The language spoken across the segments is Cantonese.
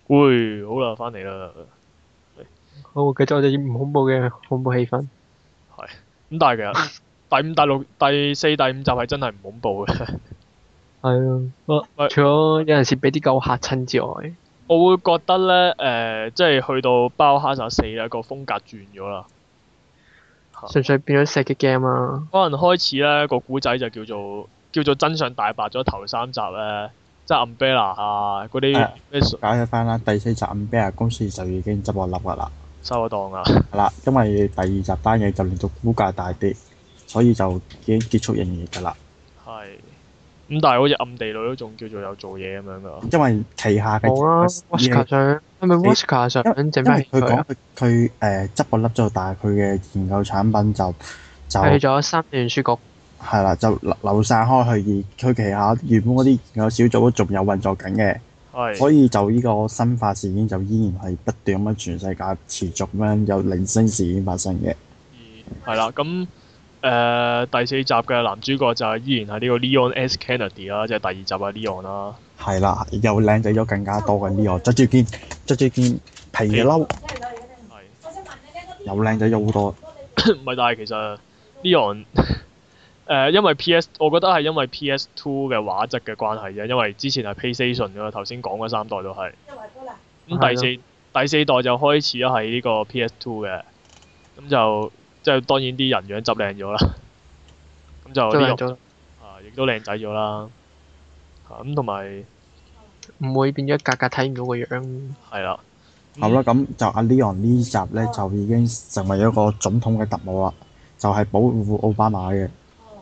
會好啦，翻嚟啦。 好，繼續我哋唔恐怖嘅恐怖氣氛。 係咁，但係其實第五、第六、第四、第五集係真係唔恐怖嘅。 係啊， 喂， 除咗有陣時俾啲狗嚇親之外， 我會覺得咧，即係去到包哈薩4咧，個風格轉咗啦。 純粹變咗射擊 game 啊。 可能開始咧個古仔就叫做真相大白咗頭3集咧，即係 Umbrella 啊嗰啲咩解釋翻啦，第4集 Umbrella 公司就已經執咗笠㗎啦。 收咗檔啊。 係啦，因為第2集單嘢就令到股價大跌，所以就已經結束營業㗎啦。 係。咁但係好似暗地裏都仲叫做有做嘢咁樣㗎。 因為旗下嘅冇啦，Watchka 想係咪 Watchka 想整咩佢講佢啊？ 佢執咗笠咗，但係佢嘅研究產品就去咗三聯書局。 係啦，就流散開去，而佢旗下原本嗰啲研究小組都仲有運作緊嘅。 係。 所以就呢個生化事件就依然係不斷咁樣全世界持續咁樣有零星事件發生嘅。 係啦，咁第4集嘅男主角就係依然係呢個 Leon S. Kennedy 啦，即係第2集嘅 Leon 啦。 係啦，又靚仔咗更加多嘅 Leon，着住件皮嘅褸，又靚仔咗好多。 唔係，但係其實 Leon 因為 PS，我覺得係因為 PS2 嘅畫質嘅關係啫，因為之前係 PlayStation 㗎嘛，頭先講嗰3代都係。咁第四代就開始係呢個 PS2 嘅，咁就即係當然啲人樣執靚咗啦。咁就呢個亦都靚仔咗啦。咁同埋唔會變咗格格睇唔到個樣。 係啦。 好啦，咁就阿 Leon 呢集咧就已經成為一個總統嘅特務啦，就係保護奧巴馬嘅。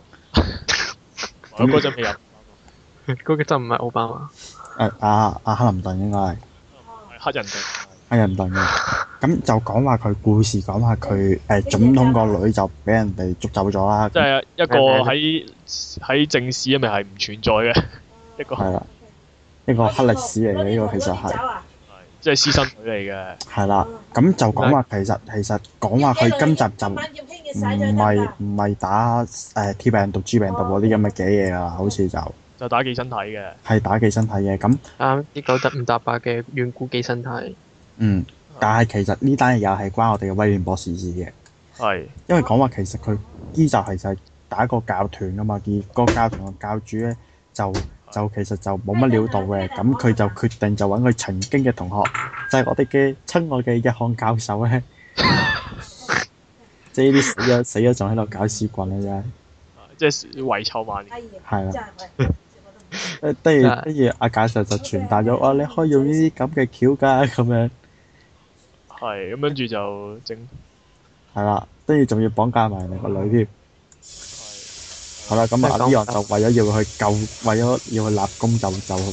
我嗰陣未入。 嗰個就唔係奧巴馬。 阿克林頓應該係。 黑人定。 黑人頓嘅。咁就講話佢故事，講話佢總統個女就俾人哋捉走咗啦。 即係一個喺正史入面係唔存在嘅一個。係啦，一個黑歷史嚟嘅呢個其實係。 即係私生女嚟嘅。 係啦，咁就講話其實講話佢今集就唔係打T 病毒、G 病毒嗰啲咁嘅嘅嘢啦，好似就打寄生體嘅。 係打寄生體嘅咁。 啲9唔搭8嘅遠古寄生體。 嗯，但係其實呢單嘢又係關我哋嘅威廉博士事嘅。 係。 因為講話其實佢呢集其實係打一個教團㗎嘛，而個教團嘅教主咧就其實就冇乜料到嘅，咁佢就決定就揾佢曾經嘅同學，就係我哋嘅親愛嘅日漢教授咧，即係呢啲死咗仲喺度搞屎棍嘅啫， 即係遺臭萬年。 係啦，跟住阿教授就傳達咗，你可以用呢啲咁嘅橋㗎咁樣。 係，咁跟住就整。 係啦，跟住仲要綁架埋你個女添。好啦，咁阿 Leon 就為咗要去救，為咗要去立功，其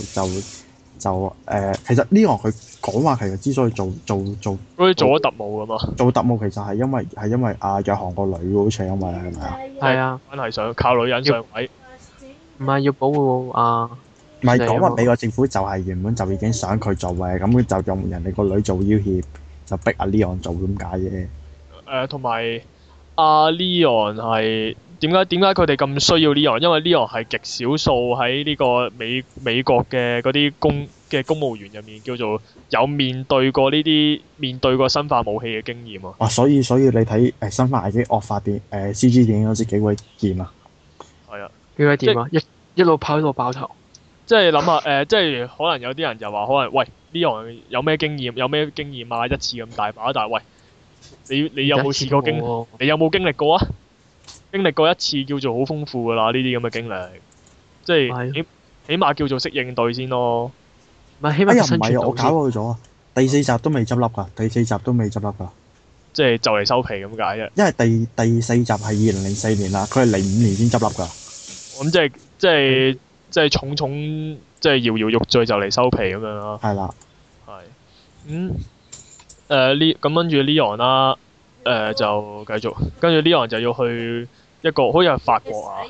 實 Leon 佢講話其實之所以做好似做咗特務咁嘛。 做特務其實係因為阿約翰個女好似係因為係咪啊？ 係啊。 真係想靠女人上位。 唔係要保護啊。 唔係講話美國政府就係原本就已經想佢做嘅，咁佢就用人哋個女做要挾，就逼阿 Leon 做咁解啫。 同埋阿 Leon 係。點解佢哋咁需要 Leon？因為 Leon 係極少數喺呢個美國嘅嗰啲公務員入面叫做有面對過生化武器嘅經驗啊！ 所以你睇生化危機惡化CG 電影嗰時幾鬼掂啊！ 係啊， 幾鬼掂啊！一路跑一路爆頭。 即係諗下即係可能有啲人就話可能喂 Leon 有咩經驗啊？一次咁大把，但係喂你有冇試過你有冇經歷過啊？經歷過一次叫做好豐富㗎啦，呢啲咁嘅經歷，即係起碼叫做識應對先咯。 唔係起碼生存到先。 我搞錯咗啊！第4集都未執笠㗎， 即係就嚟收皮咁解啫。 因為第4集係2004年啦，佢係05年先執笠㗎。 咁即係重即係搖搖欲墜就嚟收皮咁樣咯。 係啦。 係。咁跟住 Leon 啦。就繼續，跟住 Leon 就要去一個好似係法國啊。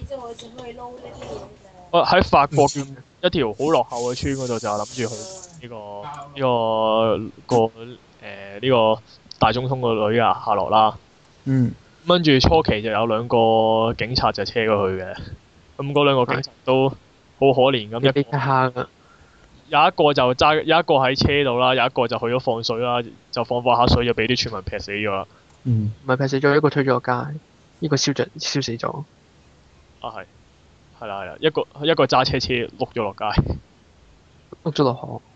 喺法國一條好落後嘅村嗰度就諗住去呢個大總統個女啊夏洛啦。跟住初期就有2個警察就車過去嘅，咁嗰2個警察都好可憐咁有一個就揸，有一個喺車度啦，有一個就去咗放水啦，就放下水就俾啲村民劈死咗啦。 嗯。 唔係劈死咗，一個推咗落街，呢個燒死咗。 啊係，係啦，一個揸車碌咗落街， 碌咗落河。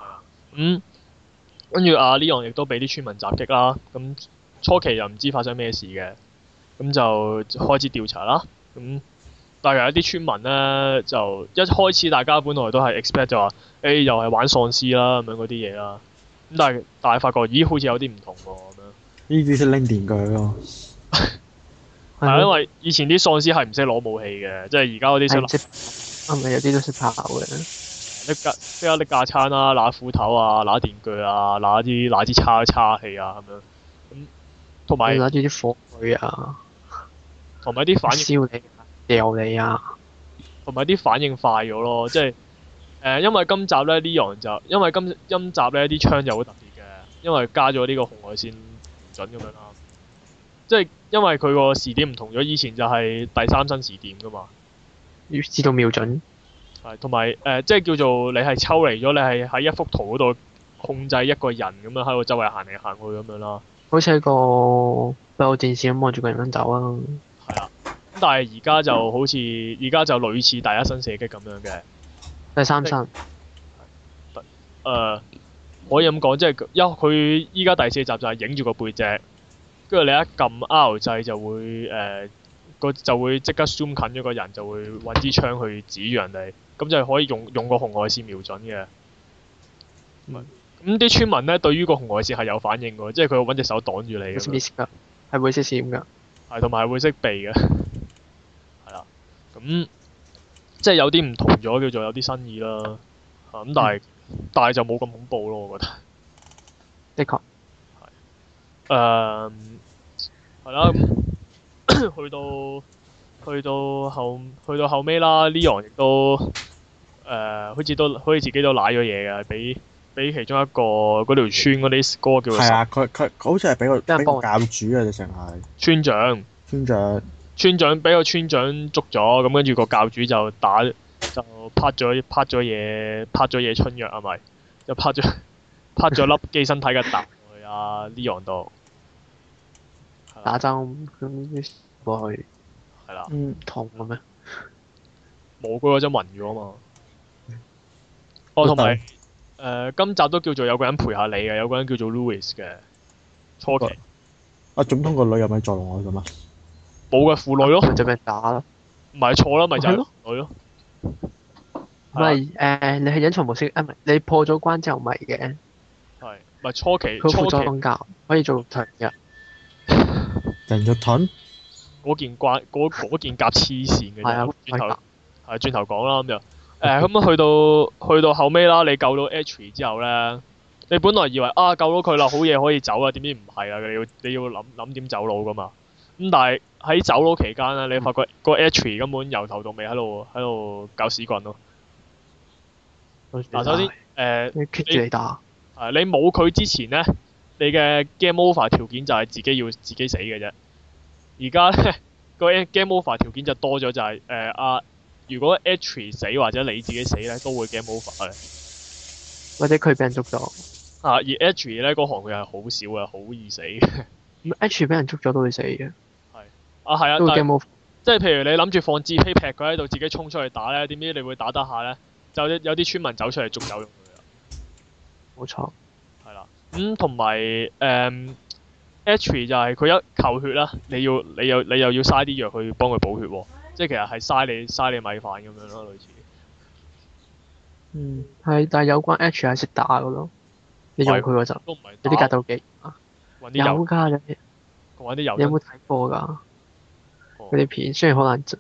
跟住阿 Leon 亦都俾啲村民襲擊啦。咁初期又唔知發生咩事嘅，咁就開始調查啦。咁但係有啲村民咧，就一開始大家本來都係 expect 就話，又係玩喪屍啦咁樣嗰啲嘢啦。咁但係發覺，咦好似有啲唔同喎咁樣。 呢啲識拎電鋸咯。 係啊，因為以前啲喪屍係唔識攞武器嘅，即係而家嗰啲識。 係咪有啲都識跑嘅？ 即刻拎架撐啦，拿斧頭啊，拿電鋸啊，拿支叉器啊咁樣。咁同埋拿住啲火炬啊， 同埋啲反應燒你、掉你啊， 同埋啲反應快咗咯，即係因為今集咧 Leon 就因為今集咧啲槍就好特別嘅，因為加咗呢個紅外線瞄準咁樣啦。即係因為佢個時點唔同咗，以前就係第三身時點噶嘛。 要知道瞄準。 係，同埋即係叫做你係抽離咗，你係喺一幅圖嗰度控制一個人咁樣喺度周圍行嚟行去咁樣啦。 好似係個閉路電視咁望住個人走啊。 係啊，咁但係而家就好似類似第一身射擊咁樣嘅。 第三身。 可以咁講，即係佢依家第四集就係影住個背脊，跟住你一撳 R 掣就會就會即刻 zoom 近咗個人，就會揾支槍去指住人哋，咁就可以用個紅外線瞄準嘅。咁啲村民咧對於個紅外線係有反應嘅，即係佢會揾隻手擋住你嘅。 會識㗎，係會識閃㗎。 係，同埋係會識避嘅。係啦，咁即係有啲唔同咗，叫做有啲新意啦。咁但係就冇咁恐怖咯，我覺得。 的確。 係。係啦。去到後尾啦 ，Leon 亦都好似自己都賴咗嘢嘅，俾其中一個嗰條村嗰啲嗰個叫做。係啊， 佢好似係俾個教主啊，直情係。村長俾個村長捉咗，咁跟住個教主就拍咗嘢春藥啊咪，就拍咗粒寄生體嘅彈去阿 Leon 度。 打針咁過去。 係啦。 痛嘅咩？ 冇，佢嗰陣暈咗啊嘛。同埋今集都叫做有個人陪下你嘅，有個人叫做 Louis 嘅。初期。 總統個女有咩作用啊？咁啊？ 冇嘅，婦女咯。 就俾人打咯。 唔係錯啦，咪就係婦女咯。 唔係你係隱藏模式啊？唔係你破咗關之後咪嘅。 係。咪初期。 佢輔助瞓覺，可以做長嘅。 人肉盾？ 嗰件甲黐線嘅啫，轉頭講啦咁就，咁去到後尾啦，你救到 H 之後咧，你本來以為救到佢啦，好嘢可以走啊，點知唔係啊，你要諗點走佬噶嘛，咁但係喺走佬期間咧，你發覺個 H 根本由頭到尾喺度搞屎棍咯。首先你 keep 住你打。 你冇佢之前咧，你嘅 game over 條件就係自己要自己死嘅啫。而家咧個 game over 條件就多咗，就係如果 H 死或者你自己死咧，都會 game over 嘅。 或者佢俾人捉咗。 而 H 咧嗰行佢係好少嘅，好易死嘅。 H 俾人捉咗都會死嘅。 係啊， 都會 game over。 即係譬如你諗住放紙飛劈佢喺度，自己衝出去打咧，點知你會打得下咧？就有啲村民走出嚟捉走用佢啦。 冇錯。係啦。 同埋H 就係佢一扣血啦，你又要嘥啲藥去幫佢補血喎，即係其實係嘥你米飯咁樣咯，類似。 係，但係有關 H 係識打㗎咯，你用佢嗰陣有啲格鬥技有㗎，你有冇睇過㗎？嗰啲片雖然好難出。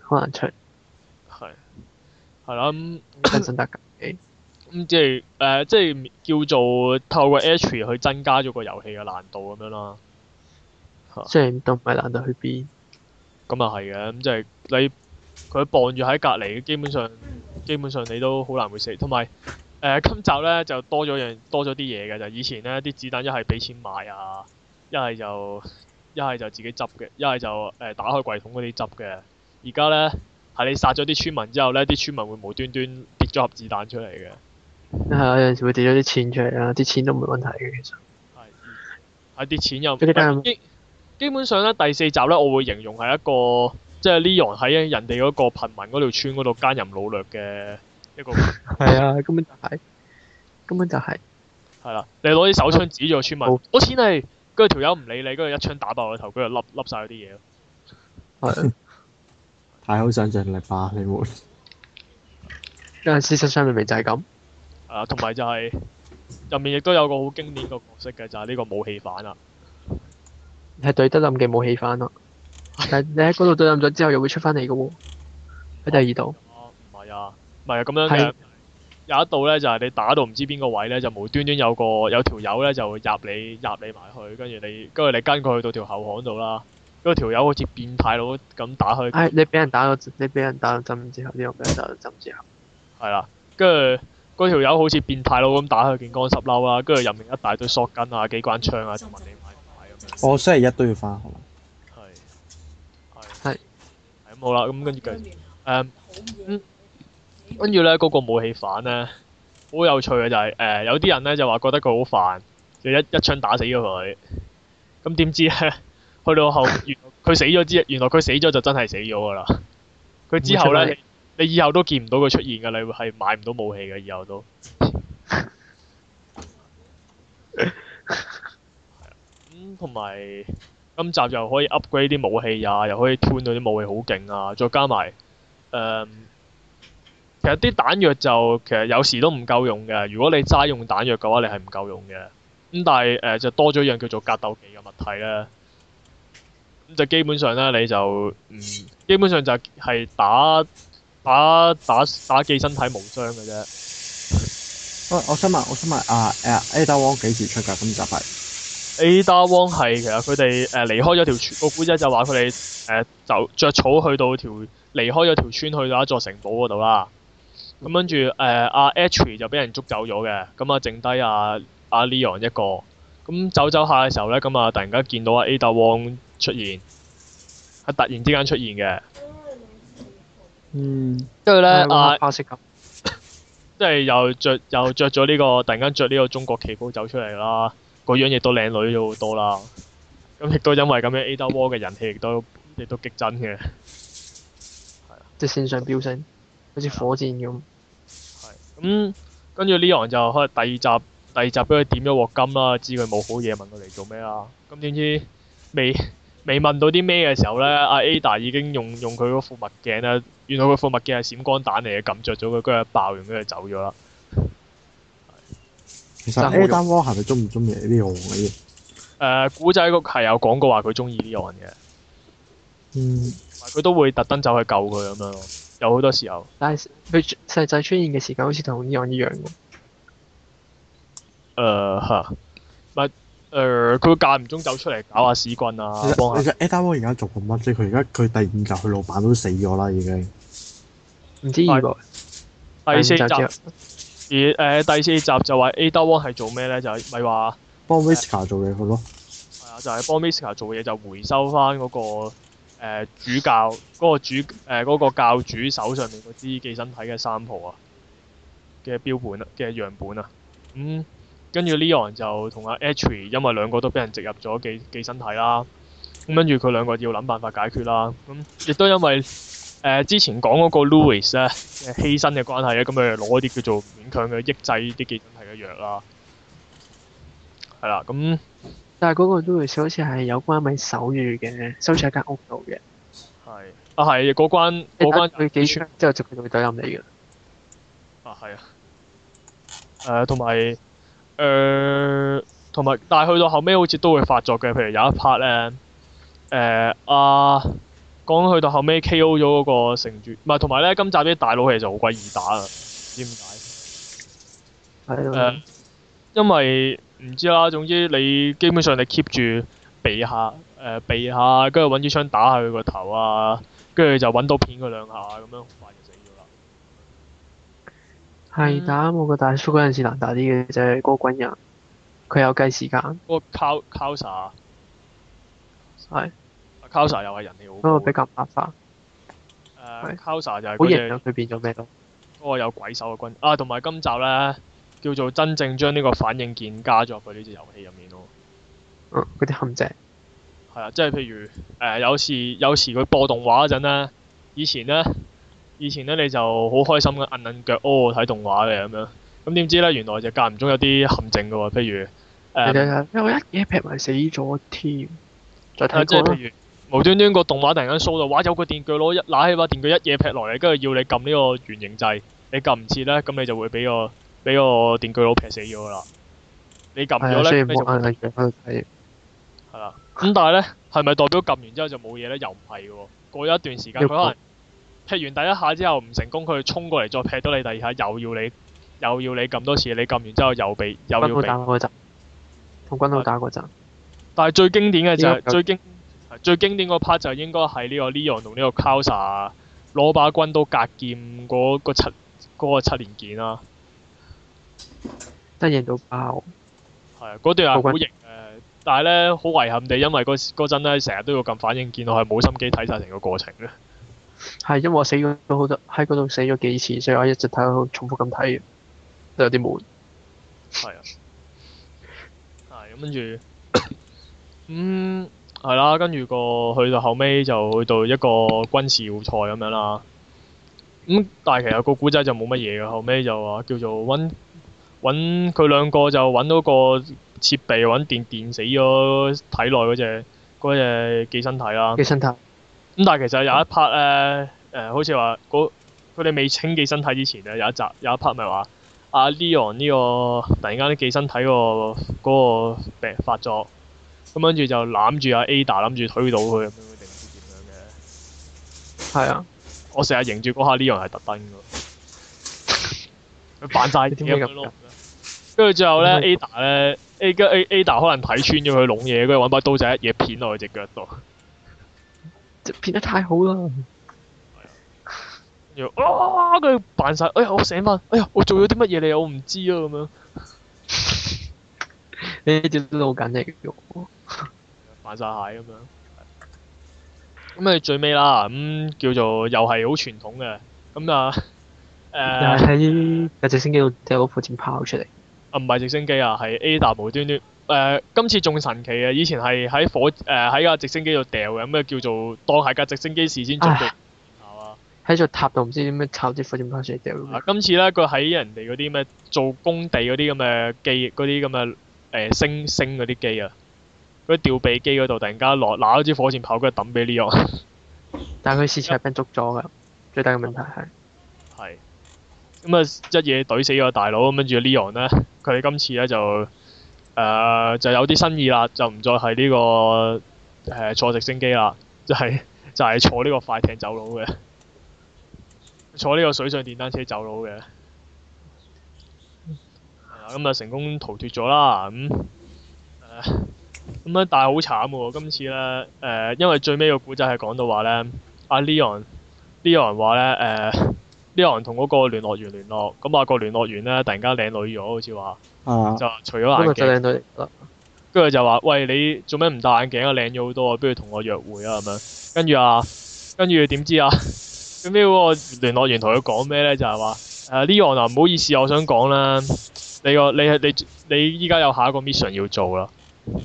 係啦真心得㗎。 即係叫做透過 H 去增加咗個遊戲嘅難度咁樣啦。 雖然都唔係難到去邊。 咁啊係嘅，咁即係佢傍住喺隔離，基本上你都好難會死。同埋今集咧就多咗啲嘢嘅，就以前咧啲子彈一係俾錢買啊，一係就自己執嘅，一係就打開櫃桶嗰啲執嘅。而家咧係你殺咗啲村民之後咧，啲村民會無端端跌咗盒子彈出嚟嘅。 係啊，有陣時會跌咗啲錢出嚟啦，啲錢都唔係問題嘅其實。 係啲錢又基基本上咧，第四集咧，我會形容係一個即係 Leon 喺人哋嗰個貧民嗰條村嗰度奸淫擄掠嘅一個。 係啊，根本就係。係啦，你攞啲手槍指住個村民，攞錢嚟，跟住條友唔理你，跟住一槍打爆個頭，跟住笠晒嗰啲嘢咯。 係。 太好想像力吧，你會。 因為事實上明明就係咁。 同埋就係入面亦都有個好經典個角色嘅，就係呢個武器犯啦。 係對得冧嘅武器犯咯。但係你喺嗰度對冧咗之後，又會出翻嚟嘅喎。喺第二度。 唔係啊，咁樣嘅。有一度咧，就係你打到唔知邊個位咧，就無端端有條友咧就入你埋去，跟住你跟佢去到條後巷度啦。嗰條友好似變態佬咁打佢。 你俾人打咗針之後，呢個俾人打咗針之後。 係啦，跟住嗰條友好似變態佬咁打佢件乾濕褸啦，跟住入面一大堆索根啊、機關槍啊，就問你買唔買咁樣。 我星期一都要翻學。 係。 咁好啦，咁跟住跟住咧，嗰個武器犯咧，好有趣嘅就係有啲人咧就話覺得佢好煩，就一槍打死咗佢。咁點知咧，去到後原來佢死咗就真係死咗㗎啦。佢之後咧，你以後都見唔到佢出現㗎，你係買唔到武器嘅，以後都。同埋今集又可以 upgrade 啲武器啊，又可以 tune 到啲武器好勁啊，再加埋其實啲彈藥就其實有時都唔夠用嘅。如果你齋用彈藥嘅話，你係唔夠用嘅。咁但係就多咗一樣叫做格鬥技嘅物體咧。咁就基本上咧，你就基本上就係打寄生體無雙嘅啫。 我想問Ada Wong 幾時出㗎？今集係 Ada Wong 係其實佢哋離開咗條村，個古仔就話佢哋就著草去到離開咗條村去到一座城堡嗰度啦。咁跟住阿 H 就俾人捉走咗嘅，咁剩低阿 Leon 一個。咁走下嘅時候咧，咁突然間見到阿 Ada Wong 出現，係突然之間出現嘅。跟住咧即係又着咗呢個，突然間着呢個中國旗袍走出嚟啦，個樣亦都靚女咗好多啦。咁亦都因為咁樣 Ada Wong 嘅人氣亦都激增嘅。 即係線上飆升，好似火箭咁。 咁跟住 Leon 就可能第二集俾佢點咗鑊金啦，知佢冇好嘢問佢嚟做咩啦。咁點知未問到啲咩嘅時候咧，阿 Ada 已經用佢嗰副墨鏡咧，原來佢副墨鏡係閃光彈嚟嘅，撳着咗佢，跟住爆完跟住走咗啦。 其實 Ada Wong 係咪中唔中意 Leon 嘅？ 古仔係有講過話佢中意 Leon 嘅。佢都會特登走去救佢咁樣咯。有好多時候， 但係佢實際出現嘅時間好似同Leon一樣喎。 佢間唔中走出嚟搞下屎棍啊！ 其實 Ada Wong 而家做緊乜啫？佢第五集佢老闆都死咗啦，已經。唔知第四集第四集就話 Ada Wong 係做咩咧？就係咪話幫 Wesker 做嘢好咯？ 係啊，就係幫 Wesker 做嘢，就回收翻嗰個。主教嗰個教主手上面嗰支寄生體嘅sample啊嘅標本啊嘅樣本啊，跟住 Leon 就同阿 H 因為兩個都俾人植入咗寄生體啦，咁跟住佢兩個要諗辦法解決啦，亦都因為之前講嗰個 Louis 咧犧牲嘅關係咧，咁佢攞啲叫做勉強嘅抑制啲寄生體嘅藥啦，係啦咁。 但係嗰個 Louis 好似係有關咪守住嘅，收住喺間屋度嘅。 係嗰關佢幾槍之後就佢會懟冧你嘅。 係啊。同埋，但係去到後尾好似都會發作嘅，譬如有一 part 咧，講去到後尾 K.O. 咗嗰個城主，唔係同埋咧今集啲大佬其實好鬼易打啊，唔知點解。 係咯。 因為唔知啦，總之你基本上你 keep 住避下，跟住揾支槍打下佢個頭啊，跟住就揾到片佢兩下咁樣，好快就死咗啦。 係打我個大叔嗰陣時難打啲嘅，就係嗰個軍人，佢有計時間。 嗰個 Kausa 係。 Kausa 又係人氣好高。 嗰個比較麻煩。 Kausa 就係好型啊！佢變咗咩都。 嗰個有鬼手嘅軍啊，同埋今集咧。 叫做真正將呢個反應鍵加咗入去呢隻遊戲入面咯。 嗰啲陷阱。 係啊，即係譬如有時佢播動畫嗰陣咧，以前咧你就好開心嘅摁腳睇動畫嘅咁樣，咁點知咧原來就間唔中有啲陷阱嘅喎，譬如因為一嘢劈埋死咗添。再睇即係譬如無端端個動畫突然間 show 到，哇有個電鋸佬拿起把電鋸一嘢劈落嚟，跟住要你撳呢個圓形掣，你撳唔切咧，咁你就會俾個電鋸佬劈死咗㗎啦。你撳咗咧，你就摁腳喺度睇。係啦，咁但係咧，係咪代表撳完之後就冇嘢咧？又唔係喎。過咗一段時間，佢可能劈完第一下之後唔成功，佢衝過嚟再劈到你第二下，又要你撳多次。你撳完之後又要俾。 同軍佬打嗰陣。但係最經典嘅就係最經典嗰 part 就應該係呢個 Leon 同呢個 Kausa 攞把軍刀格劍嗰個七連劍啦。 真贏到爆。 係啊，嗰段係好型。但係咧，好遺憾地，因為嗰陣咧，成日都要撳反應鍵，我係冇心機睇晒成個過程嘅。 係因為我死咗好多，喺嗰度死咗幾次，所以我一直睇到重複咁睇，都有啲悶。 係啊。係咁跟住，係啦，跟住去到後尾就去到一個軍事要塞咁樣啦。但係其實個古仔就冇乜嘢嘅，後尾就話叫做揾佢兩個就揾到個設備揾電死咗體內嗰隻寄生體啦。寄生體。但係其實有一 part 咧，好似話佢哋未清寄生體之前咧，有一 part 咪話阿 Leon 呢個突然間啲寄生體嗰個病發作，咁跟住就攬住阿 Ada 諗住推倒佢咁樣定唔知點樣嘅。係啊。我成日認住嗰下 Leon 係特登㗎，佢扮晒嘢咁樣咯。跟住最後咧，Ada 咧 Ada 可能睇穿咗佢籠嘢，跟住揾把刀仔一嘢片落佢隻腳度。片得太好啦！跟住跟住扮晒，哎呀我醒翻，哎呀我做咗啲乜嘢你我唔知啊咁樣。呢啲都好緊嘅喎。扮晒蟹咁樣。咁最尾啦，叫做又係好傳統嘅，又係喺架直升機度掉個火箭炮出嚟。唔係直升機啊，係 Ada 無端端今次仲神奇嘅，以前係喺架直升機度掉嘅，咁叫做當係架直升機事先準備。喺座塔度唔知點樣炒啲火箭炮出嚟掉。今次咧，佢喺人哋嗰啲咩做工地嗰啲咁嘅機，嗰啲咁嘅升嗰啲機啊，嗰啲吊臂機嗰度突然間攞咗支火箭炮，跟住抌俾 Leon。但係佢次係俾人捉咗㗎，最大嘅問題係。係。一嘢懟死咗個大佬，咁跟住 Leon 咧，佢哋今次咧就有啲新意啦，就唔再係呢個坐直升機啦，就係坐呢個快艇走佬嘅，坐呢個水上電單車走佬嘅。咁成功逃脫咗啦，但係好慘喎！今次咧因為最尾個古仔係講到話咧，阿 Leon 話咧Leon 同嗰個聯絡員聯絡，咁個聯絡員咧突然間靚女咗，好似話，就除咗眼鏡，跟住就話：喂，你做咩唔戴眼鏡啊？靚咗好多啊！不如同我約會啊咁樣。跟住點知啊？最尾嗰個聯絡員同佢講咩咧？就係話Leon 啊，唔好意思，我想講啦，你依家有下一個 mission 要做啦。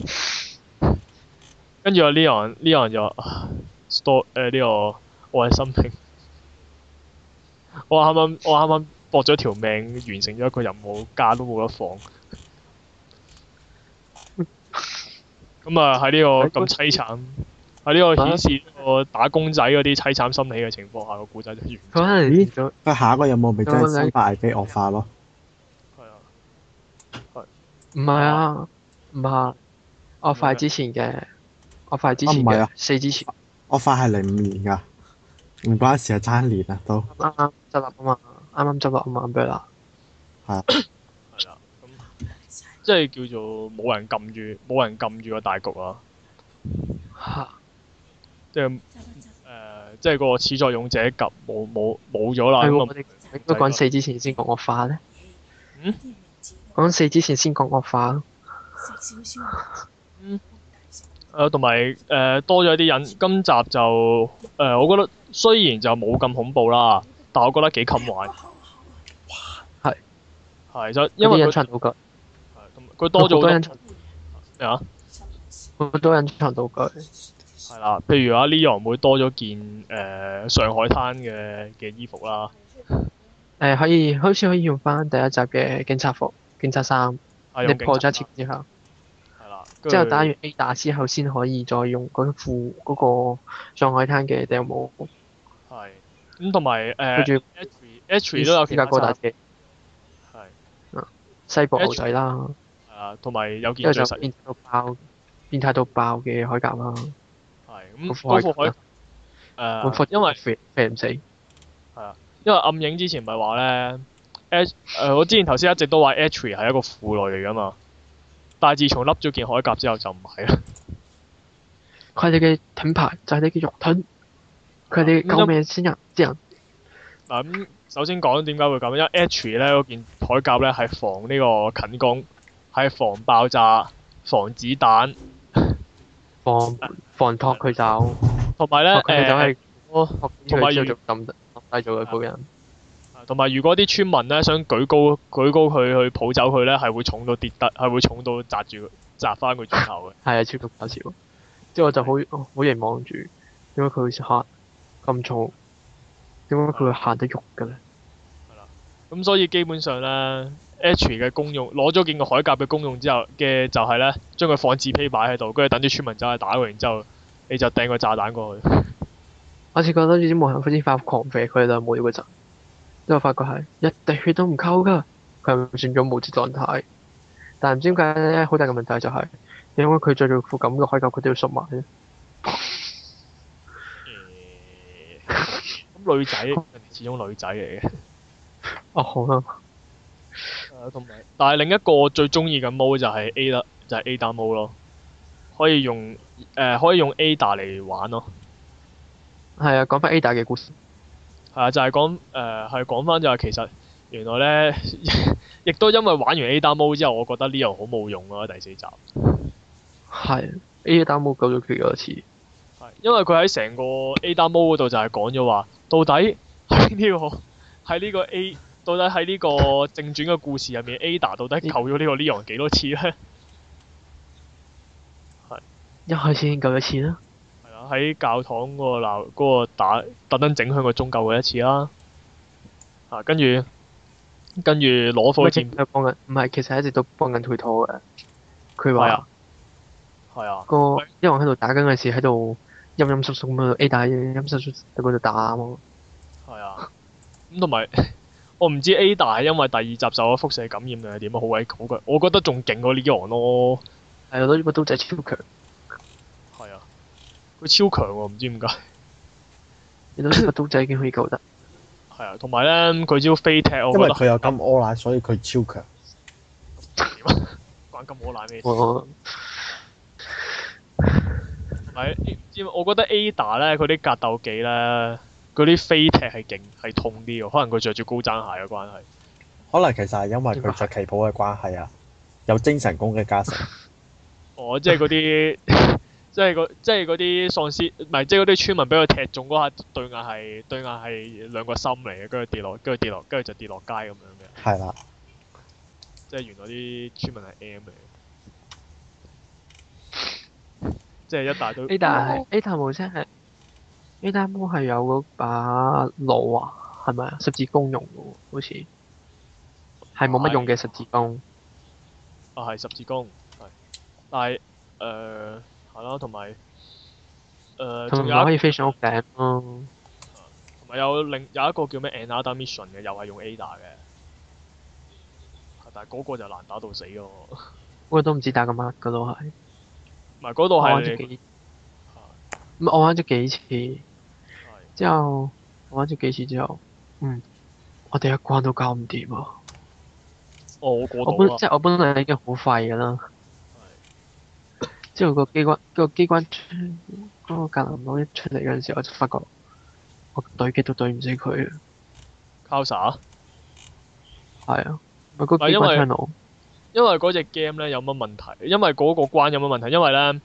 跟住Leon 就話：Stop 呢個我係心平。我啱啱搏咗條命，完成咗一個任務，假都冇得放。喺呢個咁凄慘，喺呢個顯示個打工仔嗰啲凄慘心理嘅情況下，個故仔就完。 佢下一個任務咪真係生化危機惡化咯？ 係啊。係。 唔係啊，唔係惡化之前嘅，惡化之前嘅4之前。 惡化係05年㗎。唔關事啊，爭一年啊都。 啱啱執笠啊嘛，啱執笠啊嘛，咁樣啦。係啊。 係啦，即係叫做冇人撳住個大局啊。嚇！即係個始作俑者及冇咗啦。 係我哋應該講4之前先講惡化咧。講4之前先講惡化咯。 同埋多咗啲人，今集就我覺得雖然就冇咁恐怖啦，但我覺得幾襟玩。係。 係就因為隱藏道具。 佢多咗好多隱藏咩啊？ 好多隱藏道具。 係啦，譬如阿 Leon 會多咗件上海灘嘅衣服啦。 可以，好似可以用翻第一集嘅警察服、警察衫。你破咗一次之後。 係啦。 之後打完 A 打之後，先可以再用嗰副嗰個上海灘嘅頂帽。 係。咁同埋H 都有其他私家高達嘅。 係。 西部牛仔啦。 係啊，同埋有件最實。 變態到爆嘅鎧甲啦。 係。咁嗰副鎧因為飛唔死。 係啊，因為暗影之前咪話咧我之前頭先一直都話 H 係一個婦女嚟㗎嘛，但係自從笠咗件鎧甲之後就唔係啦。 佢哋嘅盾牌就係你嘅肉盾，佢哋救命先人之人。 嗱咁，首先講點解會咁，因為 H 咧嗰件鎧甲咧係防呢個近攻，係防爆炸、防子彈、 防托佢走， 同埋咧同埋要做抌低咗佢嗰個人。 同埋如果啲村民咧想舉高佢去抱走佢咧，係會重到跌得，係會重到砸翻佢轉頭嘅。係啊，超級搞笑。之後我就好凝望住，點解佢會行咁重？點解佢會行得喐嘅咧？ 係啦。咁所以基本上咧 ，H 嘅功用攞咗件個鎧甲嘅功用之後嘅就係咧，將佢放紙批擺喺度，跟住等啲村民走去打佢，然之後你就掟個炸彈過去。 我似覺得啲無人飛機發狂射佢啦，冇咗嗰陣。之後發覺係一滴血都唔溝㗎，佢係轉咗無節狀態。但係唔知點解咧，好大嘅問題就係、是，因為佢着住副咁嘅鎧甲，佢都要縮埋咧。 咁女仔，人哋始終女仔嚟嘅。 哦，好啦。 但係另一個我最中意嘅 mode 就係 Ada mode 咯，可以用 Ada 嚟玩咯。 係啊，講翻 Ada 嘅故事。 係啊，就係講翻就係其實原來咧，亦都因為玩完 Ada mode 之後，我覺得 Leo 好冇用咯，第4集。 係 Ada mode 救咗佢幾多次？ 係因為佢喺成個 Ada mode 嗰度就係講咗話，到底喺呢個 A， 到底喺呢個正傳嘅故事入面 ，Ada 到底救咗呢個 Leon 幾多次咧？係一開始已經救咗一次啦。 喺教堂嗰個打特登整響個鐘救佢一次啦，跟住攞火箭幫緊，唔係其實一直都幫緊推拖嘅。佢話係啊， 個一王喺度打緊嘅時喺度陰陰縮縮咁樣 A 打陰陰縮縮喺嗰度打啊嘛。係啊，咁同埋我唔知 Ada 係因為第2集受咗輻射感染定係點啊？好鬼好嘅，我覺得仲勁過 Leon 咯。 係啊，呢個刀仔超強。 係啊。佢超強喎，唔知點解。 你到呢個刀仔已經可以救得。 係啊，同埋咧，佢招飛踢我覺得。 因為佢有金柯奶，所以佢超強。 關金柯奶咩事？同埋我覺得 Ada 咧，佢啲格鬥技咧，嗰啲飛踢係勁係痛啲喎，可能佢着住高踭鞋嘅關係。 可能其實係因為佢着旗袍嘅關係啊，有精神攻擊加成。 哦，即係嗰啲。即係嗰啲喪屍，唔係即係嗰啲村民俾佢踢中嗰下，對眼係兩個心嚟嘅，跟住跌落，跟住就跌落街咁樣嘅。 係啦。 即係原來啲村民係 M 嚟嘅。即係一大堆。 Ada 無聲係 Ada 冇係有嗰把弩啊，係咪啊？十字弓用嘅喎，好似係冇乜用嘅十字弓。 係十字弓，係，但係係咯，同埋仲有可以飛上屋頂咯。 同埋有一個叫咩 Another Mission 嘅，又係用 Ada 嘅，但係嗰個就難打到死喎。嗰個都唔知打緊乜嘅都係。 唔係嗰度係。 我玩咗幾次。之後我玩咗幾次之後，我哋一關都搞唔掂啊！ 我過到啦。 我本來已經好廢㗎啦。之後個機關嗰個格林佬一出嚟嗰陣時，我就發覺我對極都對唔死佢啊。 Causa？ 係啊，咪嗰機關槍佬。 因為嗰隻 game 咧有乜問題？因為嗰個關有乜問題？因為咧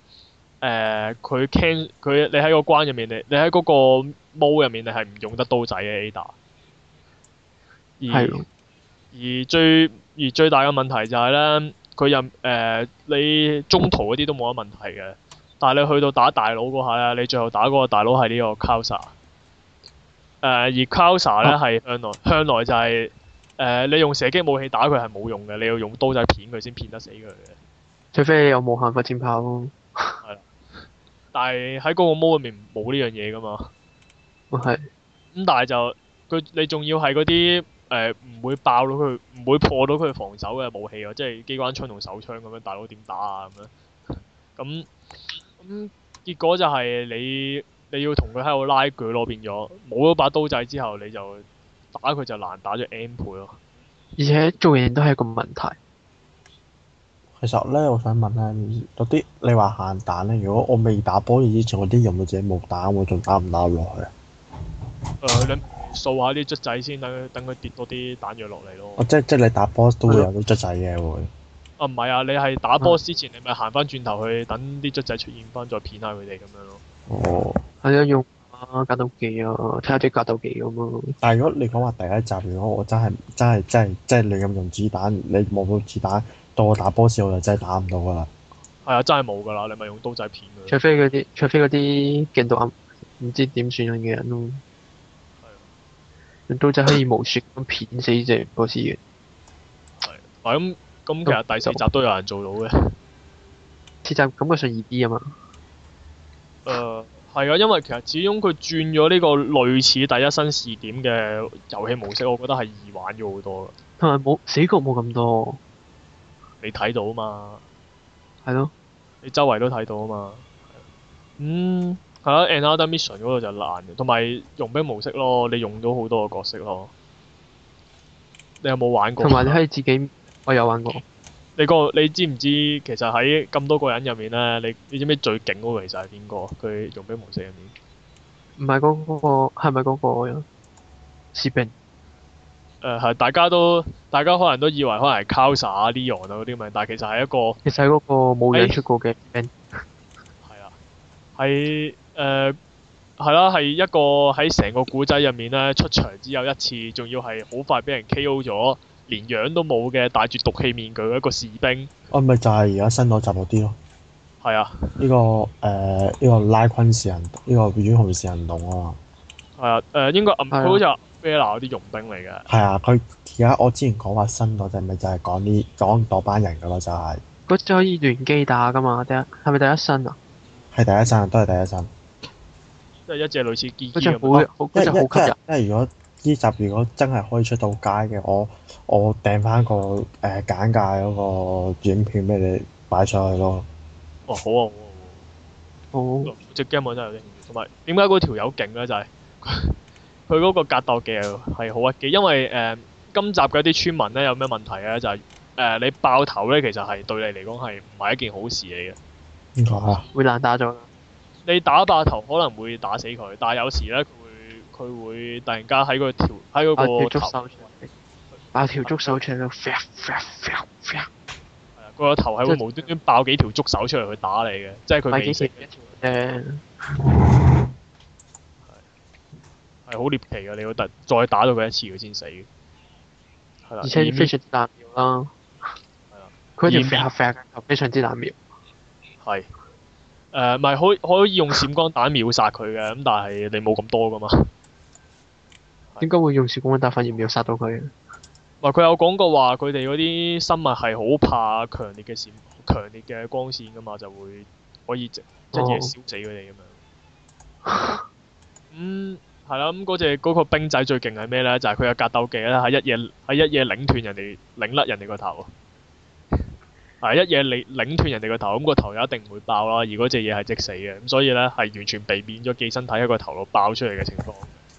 佢你喺個關入面，你喺嗰個 mode 入面，你係唔用得刀仔嘅 Ada。 係咯。 而最大嘅問題就係咧，佢你中途嗰啲都冇乜問題嘅，但係你去到打大佬嗰下咧，你最後打嗰個大佬係呢個 Kausa。而 Kausa 咧係向來就係、你用射擊武器打佢係冇用嘅，你要用刀仔片佢先片得死佢嘅。 除非你有無限發箭炮咯。 係啦，但係喺嗰個 mode 入面冇呢樣嘢噶嘛。 係。 咁但係就你仲要係嗰啲唔會爆到佢，唔會破到佢防守嘅武器喎，即係機關槍同手槍咁樣，大佬點打啊咁樣？咁結果就係你要同佢喺度拉鋸咯，變咗冇咗把刀仔之後，你就打佢就難打咗 N 倍咯。 而且做嘢都係一個問題。 其實咧，我想問咧，嗰啲你話限彈咧，如果我未打波之前，我啲任務者冇打，我仲打唔打落去啊？ 你掃下啲卒仔先，等佢跌多啲彈藥落嚟咯。 哦，即係你打波都會有啲卒仔嘅會。 啊，唔係啊，你係打波之前，你咪行翻轉頭去等啲卒仔出現翻，再片下佢哋咁樣咯。 哦。 係啊，用格鬥技啊，睇下啲格鬥技咁咯。 但係如果你講話第一集，如果我真係亂咁用子彈，你冇到子彈，到我打波時我就真係打唔到噶啦。 係啊，真係冇噶啦，你咪用刀仔片佢。 除非嗰啲勁到唔知點算嘅人咯。 係啊。 用刀仔可以無雪咁片死隻波斯嘅。 係。咁其實第四集都有人做到嘅。 四集感覺上易啲啊嘛。 係啊，因為其實始終佢轉咗呢個類似第一身視點嘅遊戲模式，我覺得係易玩咗好多。 同埋死角冇咁多。 你睇到啊嘛？ 係咯。 你周圍都睇到啊嘛。係啊，Another Mission 嗰度就難嘅，同埋傭兵模式咯，你用到好多個角色咯。你有冇玩過？ 同埋你可以自己，我有玩過。 你知唔知其實喺咁多個人入面咧，你知唔知最勁嗰個其實係邊個？佢傭兵模式入面。 唔係嗰個，係咪嗰個士兵？ 係大家可能都以為可能係 Kausa 啊、Leon 啊嗰啲咪，但係其實係一個。 其實係嗰個冇樣出過嘅兵。 係啊。係啦，係一個喺成個古仔入面咧出場只有一次，仲要係好快俾人 KO 咗，連樣都冇嘅，戴住毒氣面具嘅一個士兵。 咪就係而家新嗰集嗰啲咯。 係啊。 呢個拉昆士人，呢個遠雄士人洞啊嘛。 係啊。應該佢好似係 Bella 嗰啲傭兵嚟嘅。 係啊，佢而家我之前講話新嗰隻咪就係講嗰班人噶咯，就係。 嗰隻可以聯機打噶嘛？係咪第一身啊？ 係第一身，都係第一身。 即係一隻類似機。 嗰隻好吸引。 因為如果呢集如果真係可以出到街嘅，我訂翻個簡介嗰個影片俾你擺上去咯。 哦，好啊，好啊。好。隻 game 我真係有啲興趣，同埋點解嗰條友勁咧？就係佢嗰個格鬥技係好屈機，因為今集嘅啲村民咧有咩問題咧？就係你爆頭咧，其實係對你嚟講係唔係一件好事嚟嘅。 點解啊？ 會難打咗。你打爆頭可能會打死佢，但係有時咧佢會突然間喺嗰個頭爆條觸手出嚟，係啊， 佢個頭係會無端端爆幾條觸手出嚟去打你嘅，即係佢未死。係好獵奇嘅，你要再打到佢一次佢先死。係啦。 而且非常之難瞄啦。 係啊。 佢條頭非常之難瞄。 係。咪可以用閃光彈秒殺佢嘅，咁但係你冇咁多噶嘛。 點解會用閃光彈反而秒殺到佢？ 佢有講過話，佢哋嗰啲生物係好怕強烈嘅光線噶嘛，就會可以即係燒死佢哋咁樣。係啦，嗰個兵仔最勁係咩咧？就係佢嘅格鬥技咧，係一嘢擰斷人哋，擰甩人哋個頭。係一嘢擰斷人哋個頭，咁個頭又一定唔會爆啦。而嗰隻嘢係即死嘅，咁所以咧係完全避免咗寄生體喺個頭度爆出嚟嘅情況。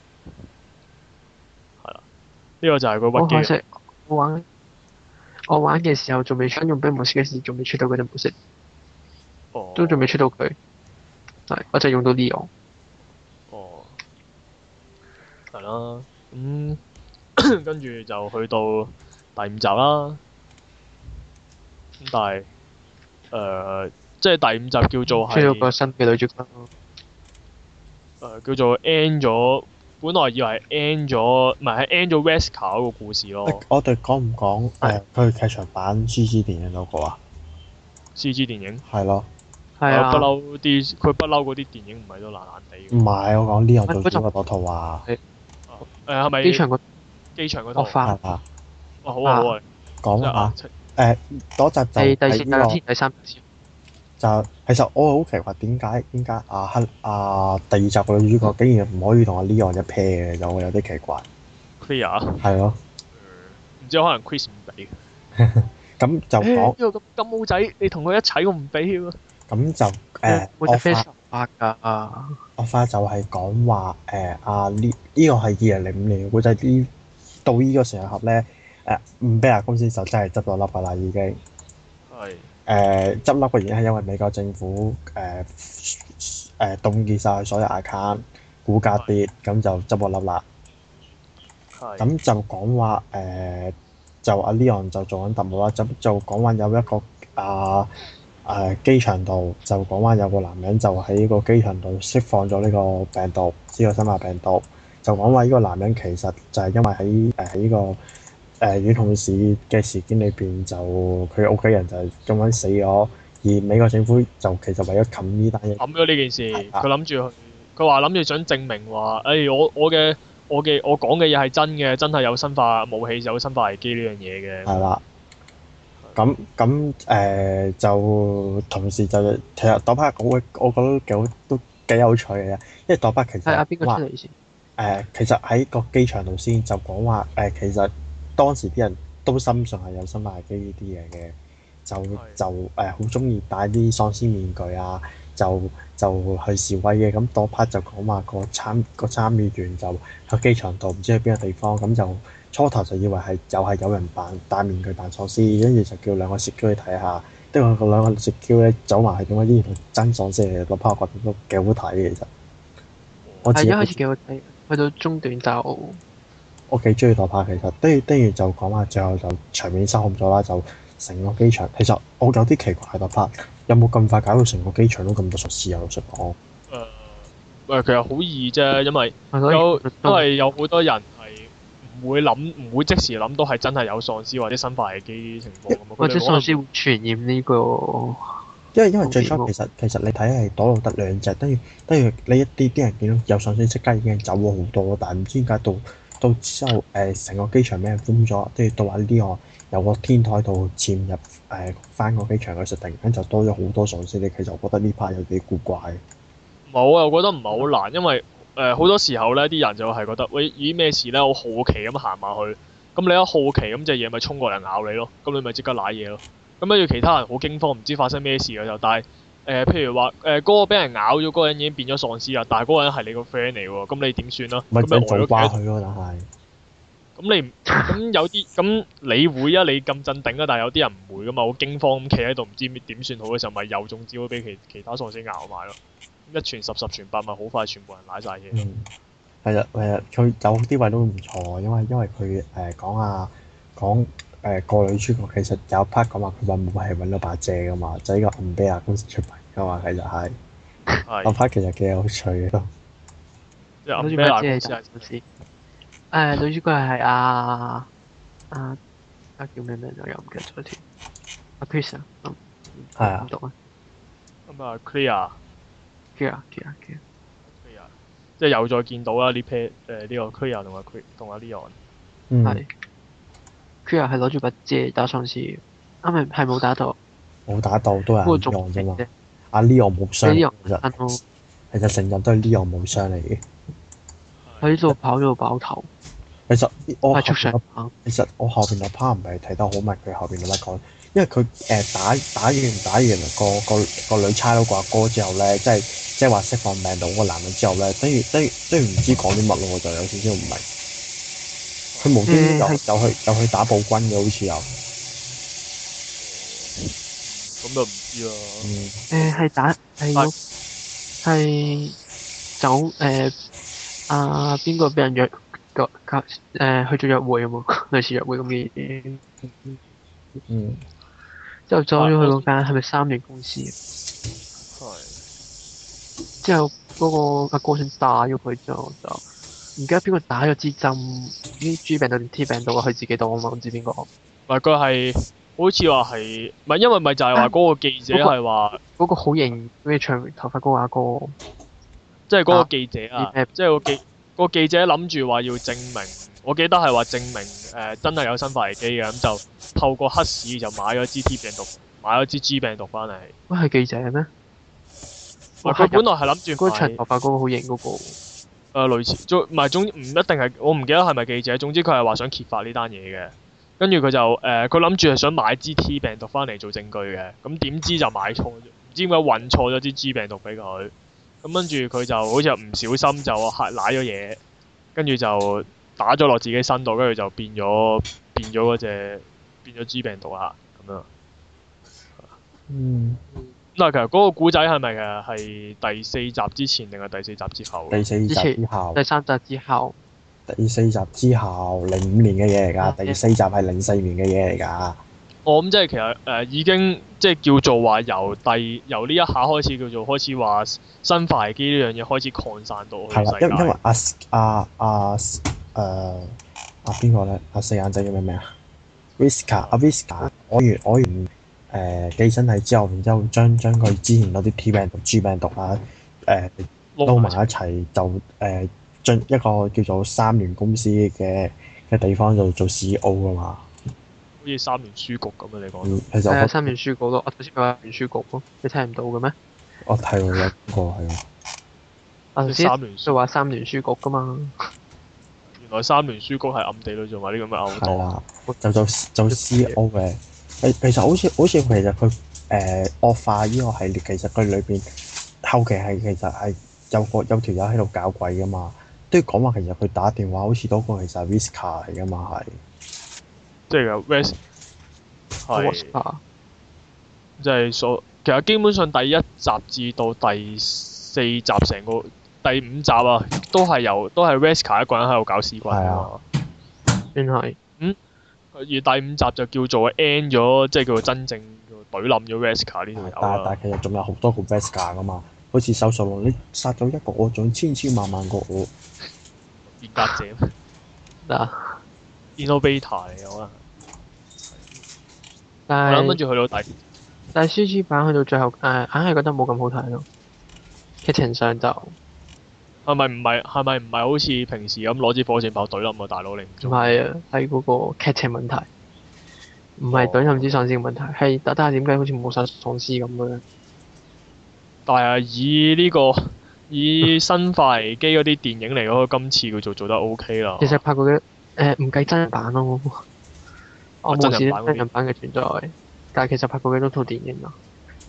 係啦，呢個就係個屈機。 我玩嘅時候仲未出傭兵模式嘅時，仲未出到嗰隻模式。 哦。 都仲未出到佢。係，我就用到 Leon。 哦。係啦，跟住就去到第五集啦。咁但係即係第五集叫做係。 出咗個新嘅女主角。 叫做 end 咗本來以為係 end 咗，唔係係 end 咗 Wesker 嗰個故事咯。 我哋講唔講佢劇場版 CG 電影嗰個啊 ？CG 電影係咯， 係啊， 不嬲啲，佢不嬲嗰啲電影唔係都爛爛地嘅。 唔係我講呢樣做主角嗰套啊， 係咪機場嗰套？ 惡化係啊， 哇！好啊好啊， 講下嗰集就係第係呢個。 第三集。 就其實我好奇怪點解第二集個女主角竟然唔可以同阿 Leon 一 pair 嘅，就有啲奇怪。 Clear 係咯， 唔知可能 Chris 唔俾。 咁就講呢個金毛仔，你同佢一齊，我唔俾喎。 咁就惡化就係講話呢個係2005年嘅古仔，到呢個時候咧五比亞公司就真係執咗笠㗎啦已經。 係。 執笠嘅原因係因為美國政府凍結晒所有 account，股價跌，咁就執咗笠啦。咁就講話就阿 Leon 就做緊特務啦，就講話有一個機場度，就講話有個男人就喺個機場度釋放咗呢個病毒，呢個生化病毒。就講話呢個男人其實就係因為喺呢個遠控市嘅事件裏邊，就佢屋企人就係咁樣死咗，而美國政府就其實為咗冚呢單嘢， 冚咗呢件事，佢諗住佢話諗住想證明話，我講嘅嘢係真嘅，真係有生化武器，有生化危機呢樣嘢嘅。 係啦。咁就同時就其實朵巴我覺得都幾有趣嘅，因為朵巴其實係邊個出嚟先？ 其實喺個機場度先就講話其實當時啲人都深信係有生化危機呢啲嘢嘅，就好中意戴啲喪屍面具啊，就去示威嘅。咁朵巴就講話個參與員就喺機場度唔知去邊個地方，咁就初頭就以為係有人戴面具扮喪屍，跟住就叫兩個攝嬌去睇下，跟住個兩個攝嬌咧走埋係點解依然係真喪屍嚟嘅，朵巴我覺得都幾好睇嘅其實。 係一開始幾好睇，去到中段就我幾中意朵巴其實，跟住就講話最後就場面失控咗啦，就成個機場其實我有啲奇怪朵巴有冇咁快搞到成個機場都咁多術士啊？老實講。 其實好易啫，因為有好多人係唔會即時諗到係真係有喪屍或者生化危機呢啲情況。 或者喪屍會傳染呢個。 因為最初其實你睇係躲到得兩隻，跟住你一啲人見到有喪屍即刻已經走咗好多，但係唔知點解到之後成個機場俾人封咗，跟住到話呢個有個天台度潛入翻個機場嘅時候，突然間就多咗好多喪屍。你其實我覺得呢 part 有幾古怪。 冇啊，我覺得唔係好難，因為好多時候咧，啲人就係覺得喂，咦咩事咧？我好奇咁行埋去，咁你一好奇咁隻嘢咪衝過嚟咬你咯，咁你咪即刻瀨嘢咯。咁跟住其他人好驚慌，唔知發生咩事嘅就，但係譬如話嗰個俾人咬咗嗰個人已經變咗喪屍啦，但係嗰個人係你個 friend 嚟喎，咁你點算啊？ 咪咁咪做瓜佢咯，但係。 咁有啲咁你會啊？你咁鎮定啊？但係有啲人唔會噶嘛，好驚慌咁企喺度，唔知點算好嘅時候，咪又中招俾其他喪屍咬埋咯。一傳十，十傳百，咪好快全部人瀨晒嘢。 係啊，佢有啲位都唔錯，因為佢講個女主角其實有 part 講話佢揾武器揾到把遮噶嘛，就係呢個暗比亞公司出品噶嘛，其實係。個 part 其實幾有趣嘅都。 暗比亞公司係公司。 女主角係叫咩名我又唔記得咗添。阿 Chris 啊， 係啊。 點讀啊？ 咁啊 Clear。 Clear， 即係又再見到啦呢 pair 呢個 Clear 同阿 Leon。 係。Clear 係攞住把遮打喪屍，係冇打到。 冇打到都係 Leon 啫嘛。阿 Leon 冇傷。其實成日都係 Leon 冇傷嚟嘅。 喺度跑咗個爆頭。 其實我後邊個 part 唔係睇得好密，佢後邊有乜講？因為佢打完個女差佬個阿哥之後咧，即係話釋放病毒嗰個男人之後咧，等於唔知講啲乜咯，我就有少少唔明。佢無端端又去打暴君嘅，好似有。 咁就唔知啦。 係走邊個俾人約去做約會啊嘛，類似約會咁嘅嘢。之後走咗去嗰間係咪3年公司？之後嗰個阿哥想打咗佢之後就記得邊個打咗支針，啲 G 病毒定 T 病毒啊？佢自己度啊嘛，唔知邊個。 唔係佢係好似話係，唔係因為咪就係話嗰個記者係話嗰個好型，咩長頭髮嗰個阿哥。 即係嗰個記者啊，即係個記者諗住話要證明，我記得係話證明真係有生化危機嘅，咁就透過黑市就買咗支 T 病毒，買咗支 G 病毒翻嚟。 喂，係記者咩？ 佢本來係諗住嗰個長頭髮嗰個好型嗰個。 類似，唔一定係，我唔記得係咪記者。總之佢係話想揭發呢單嘢嘅，跟住佢就佢諗住係想買支 T 病毒翻嚟做證據嘅，咁點知就買錯，唔知點解運錯咗支 G 病毒俾佢，咁跟住佢就好似唔小心就揩瀨咗嘢，跟住就打咗落自己身度，跟住就變咗G 病毒啦，咁樣。嗱，其實嗰個古仔係咪係第4集之前定係第4集之後？ 第4集之後。 第3集之後。 第4集之後，05年嘅嘢嚟㗎。第4集係04年嘅嘢嚟㗎。 我諗即係其實已經即係叫做話由呢一下開始叫做開始話生化危機呢樣嘢開始擴散到去世界。 因為邊個咧？四眼仔叫咩名啊？Visca 我完寄生體之後，然之後將佢之前嗰啲 T 病毒、G 病毒啊撈埋一齊，就進一個叫做三聯公司嘅地方度做 CEO 㗎嘛。 好似三聯書局咁啊！你講。 其實係三聯書局咯，我頭先咪話聯書局咯，你聽唔到嘅咩？ 我睇過一個係咯。 我頭先就話三聯書局㗎嘛。 原來三聯書局係暗地裏做埋啲咁嘅勾當。 係啦，就 CEO 嘅。其實好似其實佢惡化呢個系列，其實佢裏邊後期係其實係有條友喺度搞鬼噶嘛，都要講話其實佢打電話好似嗰個其實係 Visca 嚟噶嘛係。即係有 Ves 係。即係其實基本上第1集至到第4集成個第5集啊，都係 Visca 一個人喺度搞屎棍㗎嘛。 邊係？ 而第5集就叫做 end 咗，即係叫做真正懟冧咗 Vesca 呢條友啦。 但係其實仲有好多個 Vesca 噶嘛，好似手術王，你殺咗一個我，仲千萬個我。 變革者嗱 Innovator 嚟嘅可能。 但係跟住去到但係 CG 版去到最後硬係覺得冇咁好睇咯。劇情上就係咪唔係好似平時咁攞支火箭炮懟冧個大佬你唔中？ 唔係啊，係嗰個劇情問題，唔係懟冧之喪屍嘅問題，係但係點解好似冇晒喪屍咁嘅？ 但係以生化危機嗰啲電影嚟講，今次佢做得 OK 啦。 其實拍過嘅唔計真人版咯，我冇試真人版嘅存在，但係其實拍過幾多套電影啊？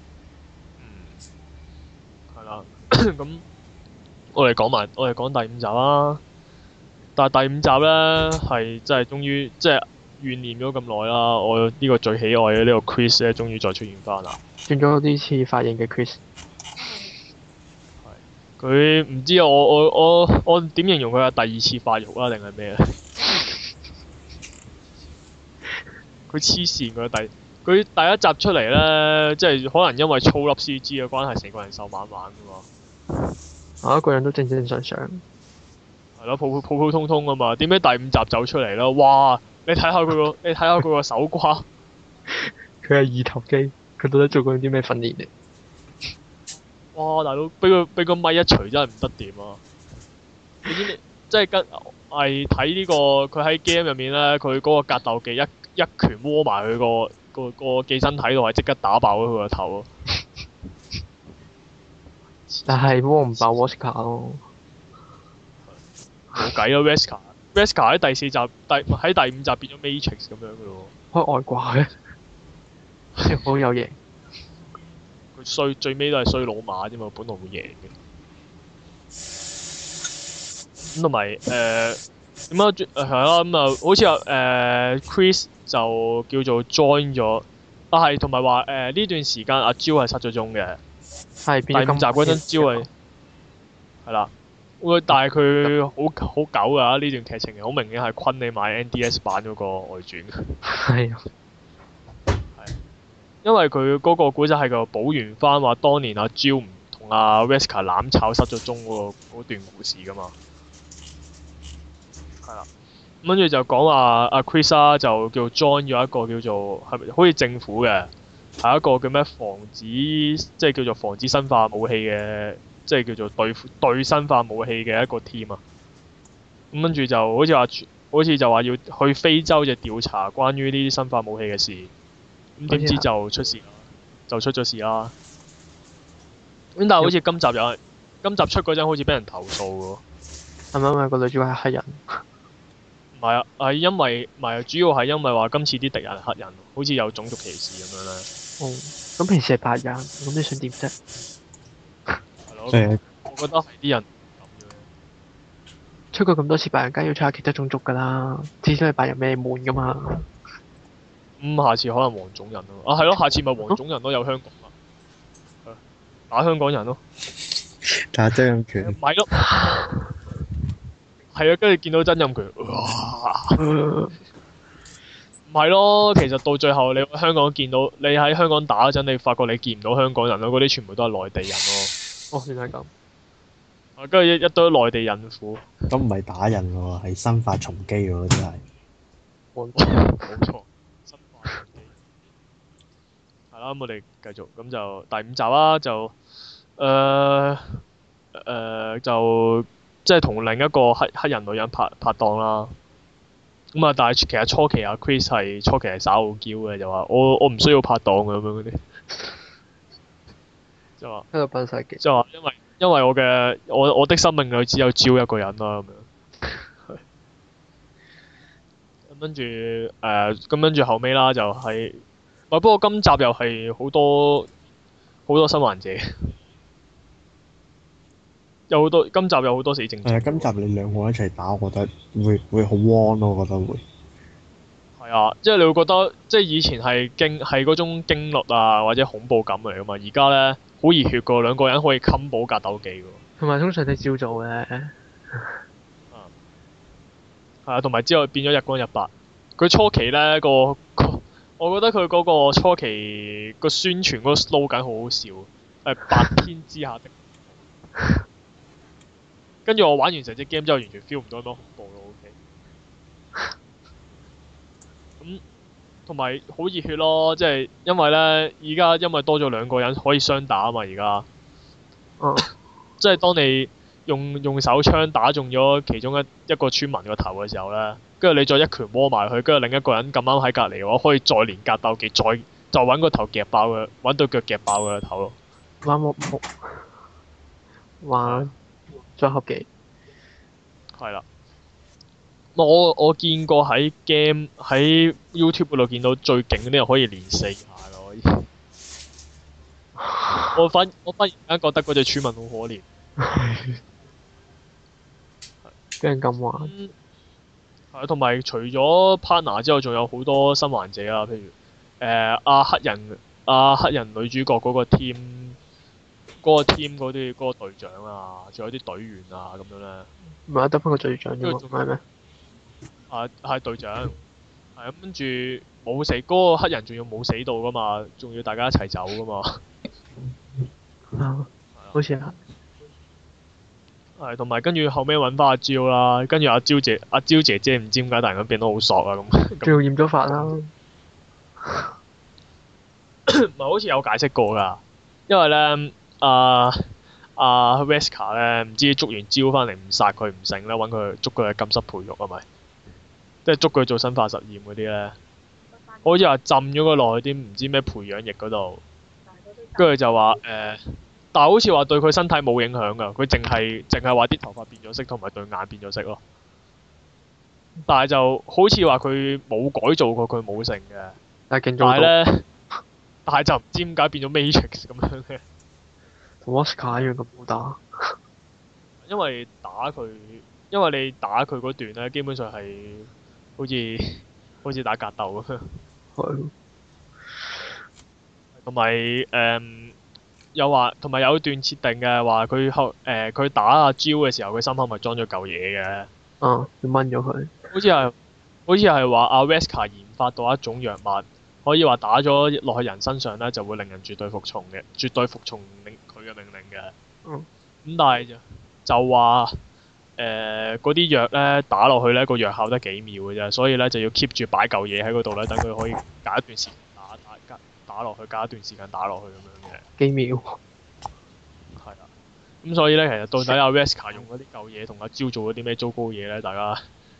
係啦，咁。我哋講第5集啦，但係第5集咧係真係終於即係懸念咗咁耐啦。我呢個最喜愛嘅呢個 Chris 咧，終於再出現翻啦。 轉咗啲似髮型嘅 Chris。 係。佢唔知我點形容佢係第2次發育啦，定係咩咧？佢黐線佢第1集出嚟咧，即係可能因為粗粒 CG 嘅關係，成個人瘦蜢蜢噶嘛。 一個人都正正常常。 係咯，普普通通啊嘛。點解第5集走出嚟啦？哇！你睇下佢個手瓜。 佢係二頭肌，佢到底做過啲咩訓練嚟？ 哇！大佬，俾個咪一錘真係唔得掂啊！你知即係係睇呢個佢喺 game 入面咧，佢嗰個格鬥技一拳窩埋佢個寄生體度，係即刻打爆咗佢個頭咯。 但係窩唔爆 Vesca 咯， 冇計咯 Vesca 喺第4集喺第5集變咗 Matrix 咁樣噶咯喎。 開外掛嘅，好有型。 佢最尾都係衰老馬啫嘛，本來會贏嘅。咁同埋點解係啦咁啊？好似Chris 就叫做 join 咗，係同埋話呢段時間阿 Jill 係失咗蹤嘅。 係第5集嗰陣Jill係啦，但係佢好狗㗎呢段劇情，好明顯係昆你買 NDS 版嗰個外傳。 係啊。 係。因為佢嗰個古仔係個補完翻話，當年阿 Jill 唔同阿 Vesca 攬炒失咗蹤嗰段故事㗎嘛。 係啦。跟住就講話阿 Chris 啊，就叫 join 咗一個叫做係咪好似政府嘅，係一個叫咩防止即係叫做防止生化武器嘅，即係叫做對生化武器嘅一個 team 啊。咁跟住就好似就話要去非洲就調查關於呢啲生化武器嘅事。咁點知就出事啦，就出咗事啦。咁但係好似今集出嗰陣好似俾人投訴喎。 係咪因為個女主角係黑人？ 唔係啊，係因為唔係主要係因為話今次啲敵人係黑人，好似有種族歧視咁樣咧。 哦，咁平時係白人，咁你想點啫？ 係咯，我覺得係啲人咁樣。 出過咁多次白人，梗係要出下其他種族㗎啦。至少係白人咩悶㗎嘛。 下次可能黃種人咯。啊，係咯，下次咪黃種人咯，有香港啊，打香港人咯。 打曾蔭權。 唔係咯。係啊，跟住見到曾蔭權，唔係咯。其實到最後，你喺香港見到你喺香港打嗰陣，你發覺你見唔到香港人咯，嗰啲全部都係內地人咯。 哦，原來係咁。 跟住一堆內地孕婦。 咁唔係打人喎，係生化蟲機喎，真係。 冇錯。生化蟲機。係啦，咁我哋繼續，咁就第5集啦，就即係同另一個黑人女人拍檔啦。咁啊，但係其實初期阿 Chris 係耍傲嬌嘅，就話我唔需要拍檔嘅咁樣嗰啲。就話喺度扮晒嘅。 就話因為我的生命裏只有Jill一個人啦咁樣。咁跟住後尾啦，就係不過今集又係好多生還者。今集有好多死剩。 今集你兩個一齊打，我覺得會好 warm 咯，我覺得會。 係啊，即係你會覺得，即係以前係嗰種驚慄啊或者恐怖感嚟噶嘛，而家咧好熱血噶，兩個人可以冚保格鬥技噶。 同埋通常你照做嘅。 係啊，同埋之後變咗日光日白。佢初期咧我覺得佢嗰個初期個宣傳嗰個 slogan 好好笑，係白天之下的。跟住我玩完成隻 game 之後，完全 feel 唔到咁多恐怖咯。OK。咁同埋好熱血咯，即係因為咧，而家因為多咗兩個人可以雙打啊嘛，而家。即係當你用手槍打中咗其中一個村民個頭嘅時候咧，跟住你再一拳摸埋佢，跟住另一個人咁啱喺隔離嘅話，可以再連格鬥技，就揾個頭夾爆佢，揾對腳夾爆佢個頭咯。 玩組合技。係啦。我見過喺 game 喺 YouTube 嗰度見到最勁嗰啲人可以連4下㗎，可以。我忽然間覺得嗰隻村民好可憐。 俾人咁玩。 係，同埋除咗 partner 之後，仲有好多生還者啊，譬如黑人女主角嗰個 team 嗰個隊長啊，仲有啲隊員啊咁樣咧。 唔係得翻個隊長啫嘛，唔係咩？ 係隊長。係咁跟住冇死，嗰個黑人仲要冇死到噶嘛，仲要大家一齊走噶嘛。 好似係。 係，同埋跟住後尾揾翻阿 Jill 啦，跟住阿 Jill 姐姐唔知點解突然間變到好索啊咁。 仲要染咗髮啦。 唔係好似有解釋過㗎，因為咧阿 Wesker 咧唔知捉完Jill翻嚟唔殺佢唔成咧，揾佢捉佢去禁室培育係咪？即係捉佢做生化實驗嗰啲咧，好似話浸咗佢落去啲唔知咩培養液嗰度，跟住就話但係好似話對佢身體冇影響㗎，佢淨係話啲頭髮變咗色同埋對眼變咗色咯。但係就好似話佢冇改造過，佢冇成嘅。但係咧，但係就唔知點解變咗 Matrix 咁樣嘅。 同 Oscar 一樣咁好打。 因為你打佢嗰段咧，基本上係好似打格鬥咁樣。 係。 同埋同埋有段設定嘅話，佢打阿 Jill 嘅時候，佢心口咪裝咗嚿嘢嘅。 要掹咗佢。 好似係話阿 Wesker 研發到一種藥物，可以話打咗落去人身上咧，就會令人絕對服從嘅，絕對服從佢嘅命令嘅。咁但係就話嗰啲藥咧打落去咧個藥效得幾秒嘅啫，所以咧就要 keep 住擺嚿嘢喺嗰度咧，等佢可以隔一段時間打落去，隔一段時間打落去咁樣嘅。 幾秒。 係啊。咁所以咧，其實到底阿 Wesker 用嗰啲舊嘢同阿蕉做咗啲咩糟糕嘢咧？大家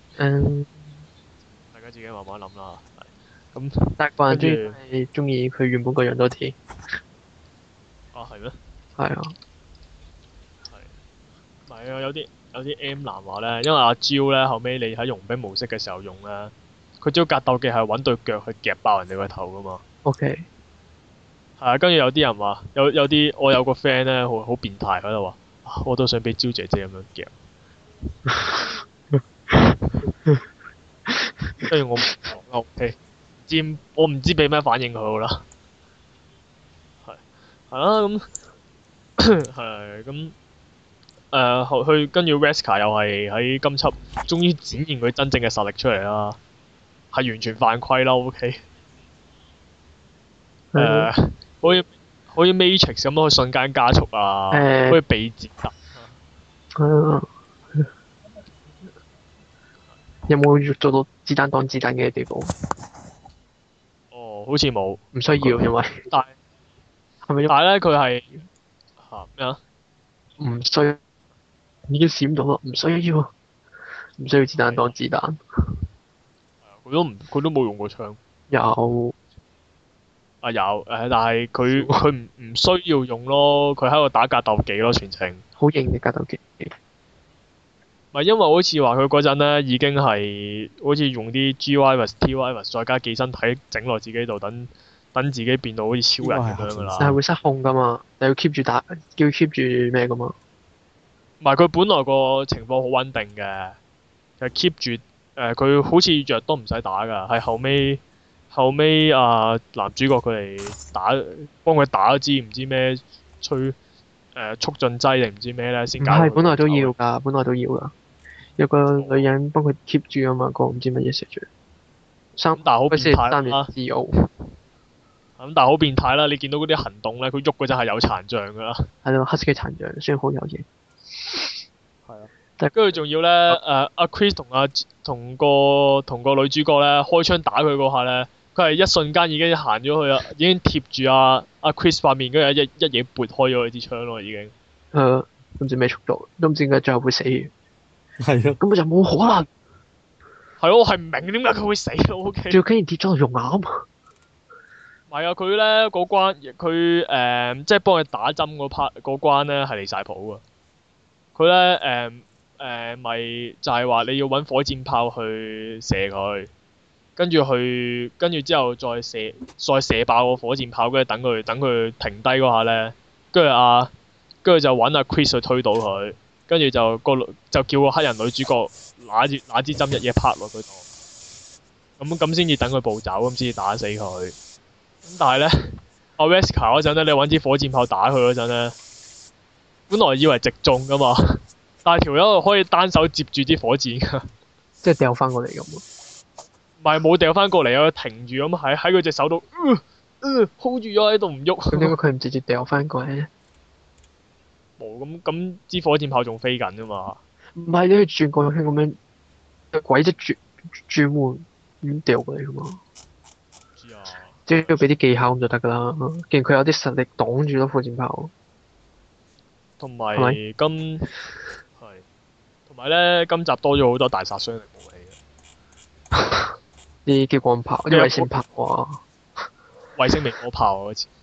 自己慢慢諗啦。咁但係個人跟住係中意佢原本個樣多啲。 啊，係咩？ 係啊。 係。唔係啊，有啲 M 男話咧，因為阿蕉咧後尾你喺傭兵模式嘅時候用咧，佢招格鬥技係揾對腳去夾爆人哋個頭噶嘛。 OK。係啊，跟住有啲人話，有啲我有個 friend 咧，好變態喺度話，我都想俾蕉姐姐咁樣夾。跟住我唔講 OK， 我唔知俾咩反應佢好啦。係啦，咁係咁去跟住 Wesker 又係喺今輯終於展現佢真正嘅實力出嚟啦，係完全犯規啦 OK。好似 Matrix 咁可以瞬間加速啊，可以避截啊。 有冇做到子彈擋子彈嘅地步？ 哦，好似冇。 唔需要，因為但係咧，佢係嚇咩啊？ 唔需要，已經閃到啦，唔需要子彈擋子彈。 佢都冇用過槍。 有。 有但係佢唔需要用咯，佢喺度打格鬥技咯，全程。 好型嘅格鬥技。 唔係因為好似話佢嗰陣咧已經係好似用啲 G-Virus、T-Virus 再加寄生體整落自己度，等自己變到好似超人咁樣噶啦。 但係會失控噶嘛？你要 keep 住打，叫 keep 住咩噶嘛？ 唔係佢本來個情況好穩定嘅，就 keep 住佢好似藥都唔使打㗎，係後尾男主角佢嚟幫佢打咗支唔知咩促進劑定唔知咩咧先搞。唔係， 本來都要㗎。有個女人幫佢 keep 住啊嘛，個唔知乜嘢食住。 但係好變態啦。 咁但係好變態啦！你見到嗰啲行動咧，佢喐嗰陣係有殘障㗎啦。 係咯，黑色嘅殘障，雖然好有型。 係啊。跟住仲要咧，阿 Chris 同個女主角咧開槍打佢嗰下咧，佢係一瞬間已經行咗去啦，已經貼住阿 Chris 塊面，跟住一嘢撥開咗佢支槍咯，已經。 唔知咩速度，都唔知點解最後會死。 係啊。 根本就冇可能。 係咯，我係唔明點解佢會死咯。O K。 仲要竟然跌咗落熔岩。 唔係啊，佢咧嗰關，佢即係幫佢打針嗰關咧係離晒譜㗎。佢咧咪就係話你要揾火箭炮去射佢，跟住之後再射爆個火箭炮，跟住等佢停低嗰下咧，跟住就揾阿 Chris 去推倒佢，跟住就叫個黑人女主角拿支針一嘢拍落佢度，咁先至等佢步走，咁先至打死佢。咁但係咧，阿 Wesker 嗰陣咧，你揾支火箭炮打佢嗰陣咧，本來以為直中噶嘛，但係條友可以單手接住支火箭㗎。 即係掉翻過嚟咁喎。 唔係冇掉翻過嚟啊！佢停住咁喺佢隻手度，hold 住咗喺度唔喐。 咁點解佢唔直接掉翻過嚟咧？ 冇咁支火箭炮仲飛緊㗎嘛？ 唔係你去轉個圈咁樣，鬼即轉換咁掉過嚟㗎嘛？ 知啊。 即係要俾啲技巧咁就得㗎啦。既然佢有啲實力擋住咗火箭炮。 同埋同埋咧，今集多咗好多大殺傷力武器啊！ 啲激光炮、啲衛星炮啊！ 衛星微波炮啊！嗰次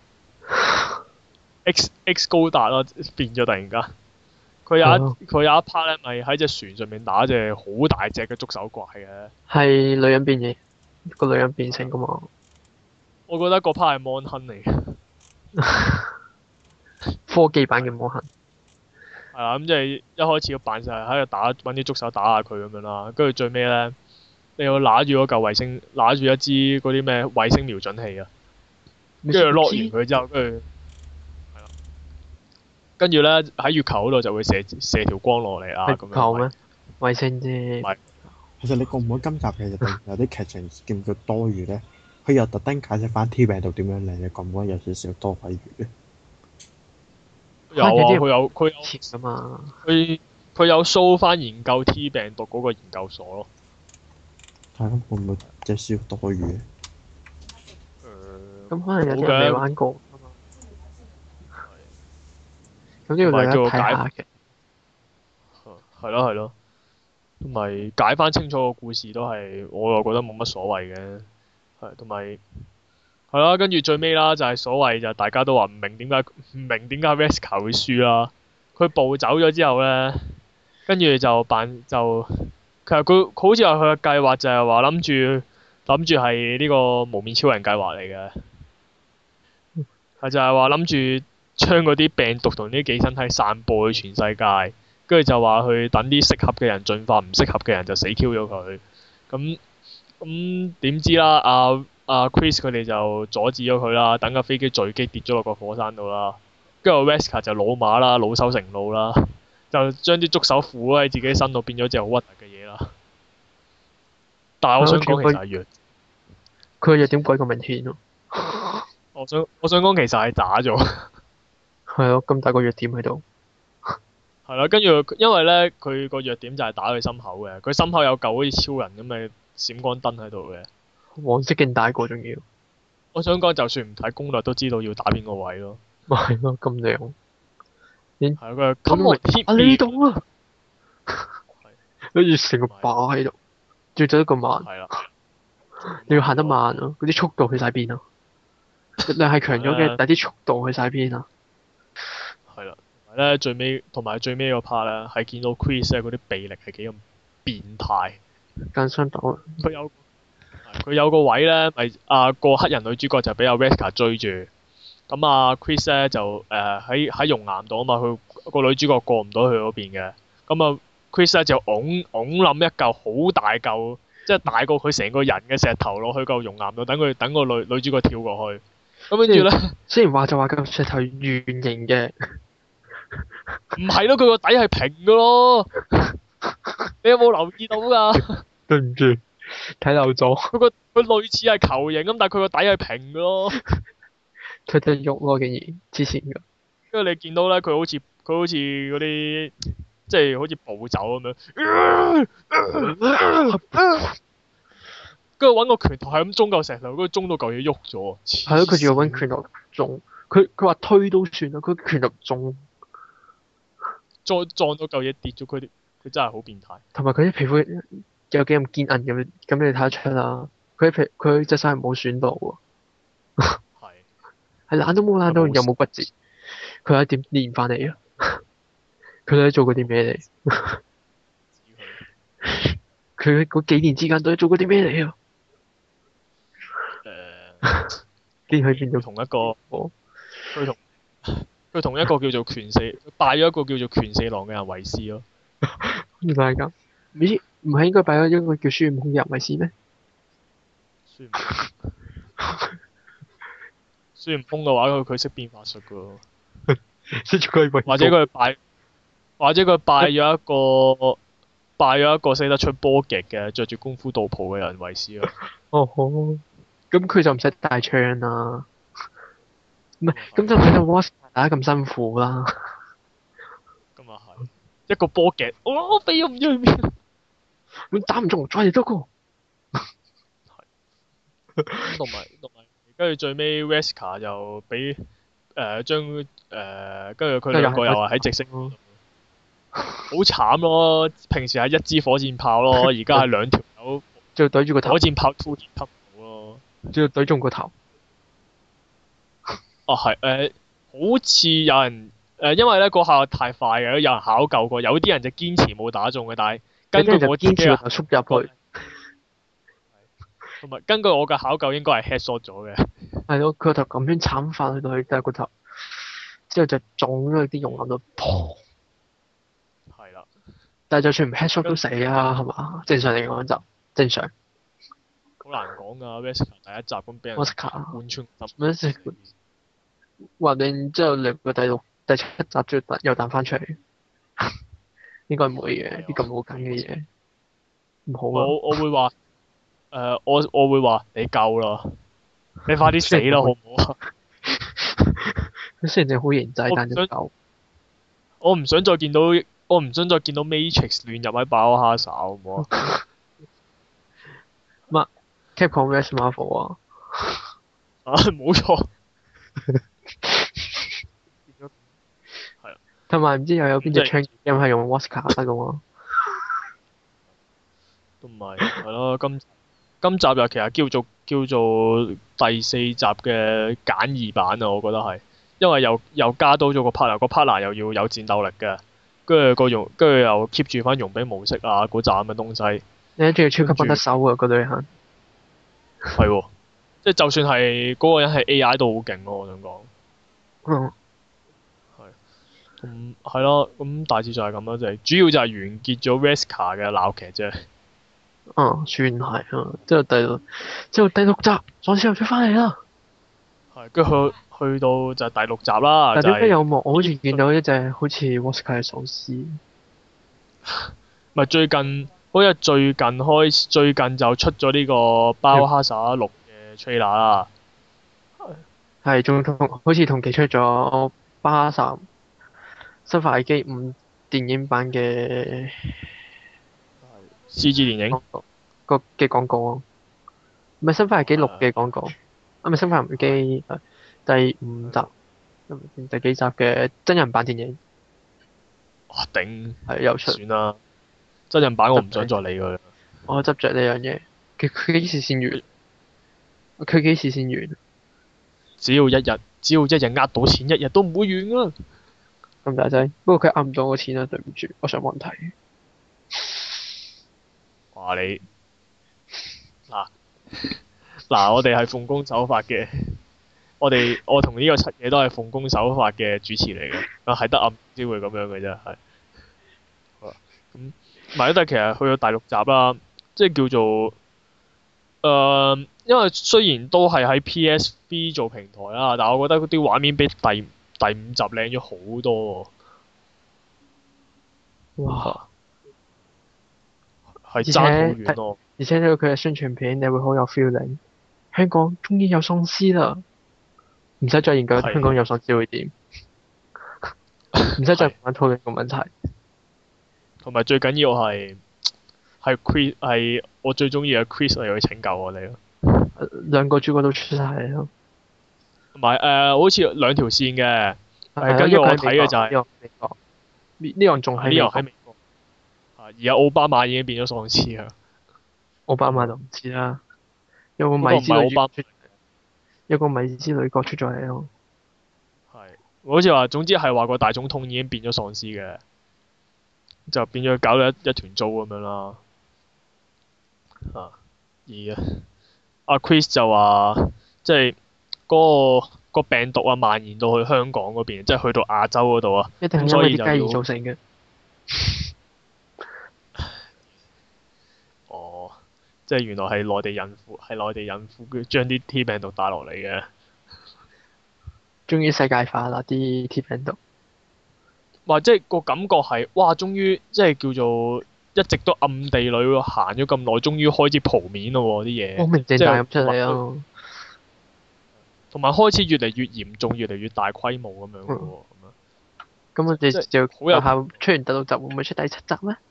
X 高達啦，變咗突然間。佢有一 part 咧，咪喺隻船上面打隻好大隻嘅觸手怪嘅。 係女人變嘢，個女人變成㗎嘛？ 我覺得嗰 part 係 Mon Hun 嚟嘅。 科技版嘅魔痕。 係啦，咁即係一開始要扮晒喺度揾啲觸手打下佢咁樣啦，跟住最尾咧，你要揦住嗰嚿衛星，揦住一支嗰啲咩衛星瞄準器啊，跟住落完佢之後，跟住咧喺月球嗰度就會射條光落嚟啊咁樣。月球咩？ 衛星啫。 其實你覺唔覺今集其實有啲劇情叫唔叫多餘咧？佢又特登解釋翻 T 病毒點樣嚟，你覺唔覺有少少多鬼餘咧？ 有啊，佢有切啊嘛。 佢佢有 show 翻研究 T 病毒嗰個研究所咯。 係咯，會唔會隻少多餘？ 咁可能有啲人未玩過。咁呢個同埋大家睇下嘅。 係咯係咯，同埋解翻清楚個故事都係，我又覺得冇乜所謂嘅。係同埋係啦，跟住最尾啦，就係所謂就大家都話唔明點解Wesker 會輸啦。佢暴走咗之後咧，跟住就其實佢好似話佢嘅計劃就係話諗住係呢個無面超人計劃嚟嘅，係就係話諗住將嗰啲病毒同啲寄生體散佈去全世界，跟住就話去等啲適合嘅人進化，唔適合嘅人就死 Q 咗佢。咁點知啦？Chris 佢哋就阻止咗佢啦，等架飛機墜機跌咗落個火山度啦。跟住 Wesker 就老馬啦，惱羞成怒啦，就將啲觸手附喺自己身度，變咗隻好核突嘅嘢啦。但係我想講其實係弱， 佢個弱點鬼咁明顯咯。 我想講其實係打咗。 係咯，咁大個弱點喺度。 係啦，跟住因為咧，佢個弱點就係打佢心口嘅，佢心口有嚿好似超人咁嘅閃光燈喺度嘅。 黃色勁大個仲要。 我想講，就算唔睇攻略都知道要打邊個位咯。 咪係咯，咁靚。 係佢咁啊呢度啊！跟住成個靶喺度，最走得咁慢。 係啦。 你要行得慢啊！嗰啲速度去晒邊啊？力量係強咗嘅，但係啲速度去晒邊啊？ 係啦，同埋最尾個 part 咧，係見到 Chris 咧嗰啲臂力係幾咁變態。 更相當。 佢有個位咧，咪個黑人女主角就俾阿 Wesker 追住，咁Chris 咧就喺熔岩度啊嘛，佢個女主角過唔到去嗰邊嘅，咁Chris 咧就拱冧一嚿好大嚿，即係大過佢成個人嘅石頭落去嚿熔岩度，等個女主角跳過去，咁跟住咧， 雖然話就話嚿石頭圓形嘅， 唔係咯，佢個底係平嘅咯，你有冇留意到㗎？ 對唔住。睇漏咗。 佢類似係球形咁，但係佢個底係平嘅咯。 佢得喐咯，竟然之前㗎。 因為你見到咧，佢好似嗰啲，即係好似暴走咁樣。跟住揾個拳頭係咁中嚿石頭，跟住中到嚿嘢喐咗。 係咯，佢仲要揾拳頭中。佢話推都算啦，佢拳頭中。 撞到嚿嘢跌咗，佢真係好變態。 同埋佢啲皮膚。有幾咁堅韌咁，咁你睇得出啦。佢隻手係冇損到喎。係爛都冇爛到，又冇骨折。佢係點練翻嚟啊？佢喺做過啲咩嚟？佢嗰幾年之間都喺做過啲咩嚟啊？竟然去變到同一個。 佢同一個叫做拳四，拜咗一個叫做拳四郎嘅人為師咯。 原來係咁。唔係應該擺咗一個叫孫悟空嘅人為師咩？ 孫悟空嘅話，佢識變法術噶喎。或者佢拜咗一個識得出波極嘅，着住功夫道袍嘅人為師咯。 哦好，咁佢就唔使帶槍啦。唔係，咁就唔使到 Wasp 打咁辛苦啦。 咁啊係，一個波極，我飛咗唔知去邊。 你打唔中，再嚟多個。 同埋，跟住最尾 Wesker 就俾跟住佢兩個又係喺直升咯，好慘咯！平時係一支火箭炮咯，而家係兩條友， 仲要對住個頭。 火箭炮突然吸到咯， 仲要對中個頭。 係好似有人因為咧嗰下太快嘅，有人考究過，有啲人就堅持冇打中嘅，但係。根據我堅持就縮入去，同埋根據我嘅考究應該係 headshot 咗嘅。 係咯，佢個頭咁樣慘翻去到去，但係個頭之後就撞咗啲熔岩度，砰！ 係啦。 但係就算唔 headshot 都死啊，係嘛？正常嚟講就正常。 好難講㗎，Wesker 第一集咁俾人貫穿揼。話定之後兩個第七集又彈翻出嚟。應該唔會嘅，啲咁好緊嘅嘢，唔好啊！ 我會話，我會話你夠啦，你快啲死啦，好唔好啊？ 佢雖然你好型仔，但係夠。 我唔想再見到我唔想再見到 Matrix 亂入喺爆哈薩好唔好啊？ 乜 Capcom vs Marvel 啊？ 啊，冇錯。係啊， 同埋唔知又有邊隻即係槍 game 係用 Wesker 得噶嘛？ 同埋係咯，今集又其實叫做第四集嘅簡易版啊，我覺得係，因為又加多咗個 partner 又要有戰鬥力嘅，跟住又 keep 住翻傭兵模式啊嗰扎咁嘅東西。 你仲要超級幫得手啊！嗰對鞋。 係喎，即係就算係嗰個人係 AI 都好勁咯，我想講。 嗯。 係咯，咁大致就係咁啦，就係主要就係完結咗 Wesker 嘅鬧劇啫。 算係啊。之後第六集，喪屍又出翻嚟啦。 係，跟住去到就係第六集啦。 但點解有幕就係我好似見到一隻好似 Wesker 嘅喪屍？ 咪最近就出咗呢個《包哈薩六》嘅 trailer 啦。 係仲好似同期出咗巴薩生化危機5電影版嘅 CG 電影。 嘅廣告啊，唔係生化危機6嘅廣告，唔係生化危機第5集，第幾集嘅真人版電影。 哇頂！ 係又出。 算啦，真人版我唔想再理佢啦。 我執着呢樣嘢，佢幾時先完？佢幾時先完？ 只要一日呃到錢，一日都唔會完啊！ 咁大劑，不過佢呃唔到我錢啊，對唔住，我上網睇。 話你嗱，我哋係奉公守法嘅，我同呢個七嘢都係奉公守法嘅主持嚟嘅，係得暗先會咁樣嘅啫，係。好啦，咁唔係，但係其實去到第六集啦，即係叫做因為雖然都係喺 PSV 做平台啦，但係我覺得嗰啲畫面比第五集靚咗好多喎。 哇！ 係爭好遠咯。 而且睇到佢嘅宣傳片，你會好有 feeling。香港終於有喪屍啦！唔使再研究香港有喪屍會點，唔使再玩討論個問題。 同埋最緊要係我最中意嘅 Chris 嚟去拯救我哋咯。 兩個主角都出晒嚟咯。 同埋好似兩條線嘅。跟住我睇嘅就係呢樣仲喺美國。而家奧巴馬已經變咗喪屍啦。 奧巴馬就唔知啦。有個米茲女角出咗嚟咯。 係，好似話總之係話個大總統已經變咗喪屍嘅，就變咗搞到一團糟咁樣啦。阿 Chris 就話，即係嗰個病毒啊蔓延到去香港嗰邊，即係去到亞洲嗰度啊。 一定係因為啲雞而造成嘅。 哦，即係原來係內地孕婦將啲 T 病毒帶落嚟嘅。 終於世界化啦啲 T 病毒。 哇！即係個感覺係，哇！終於即係叫做一直都暗地裏行咗咁耐，終於開始鋪面咯喎啲嘢。 光明正大咁出嚟咯。 同埋開始越嚟越嚴重，越嚟越大規模咁樣嘅喎。 咁我哋就好有下出完第六集，會唔會出第七集咧？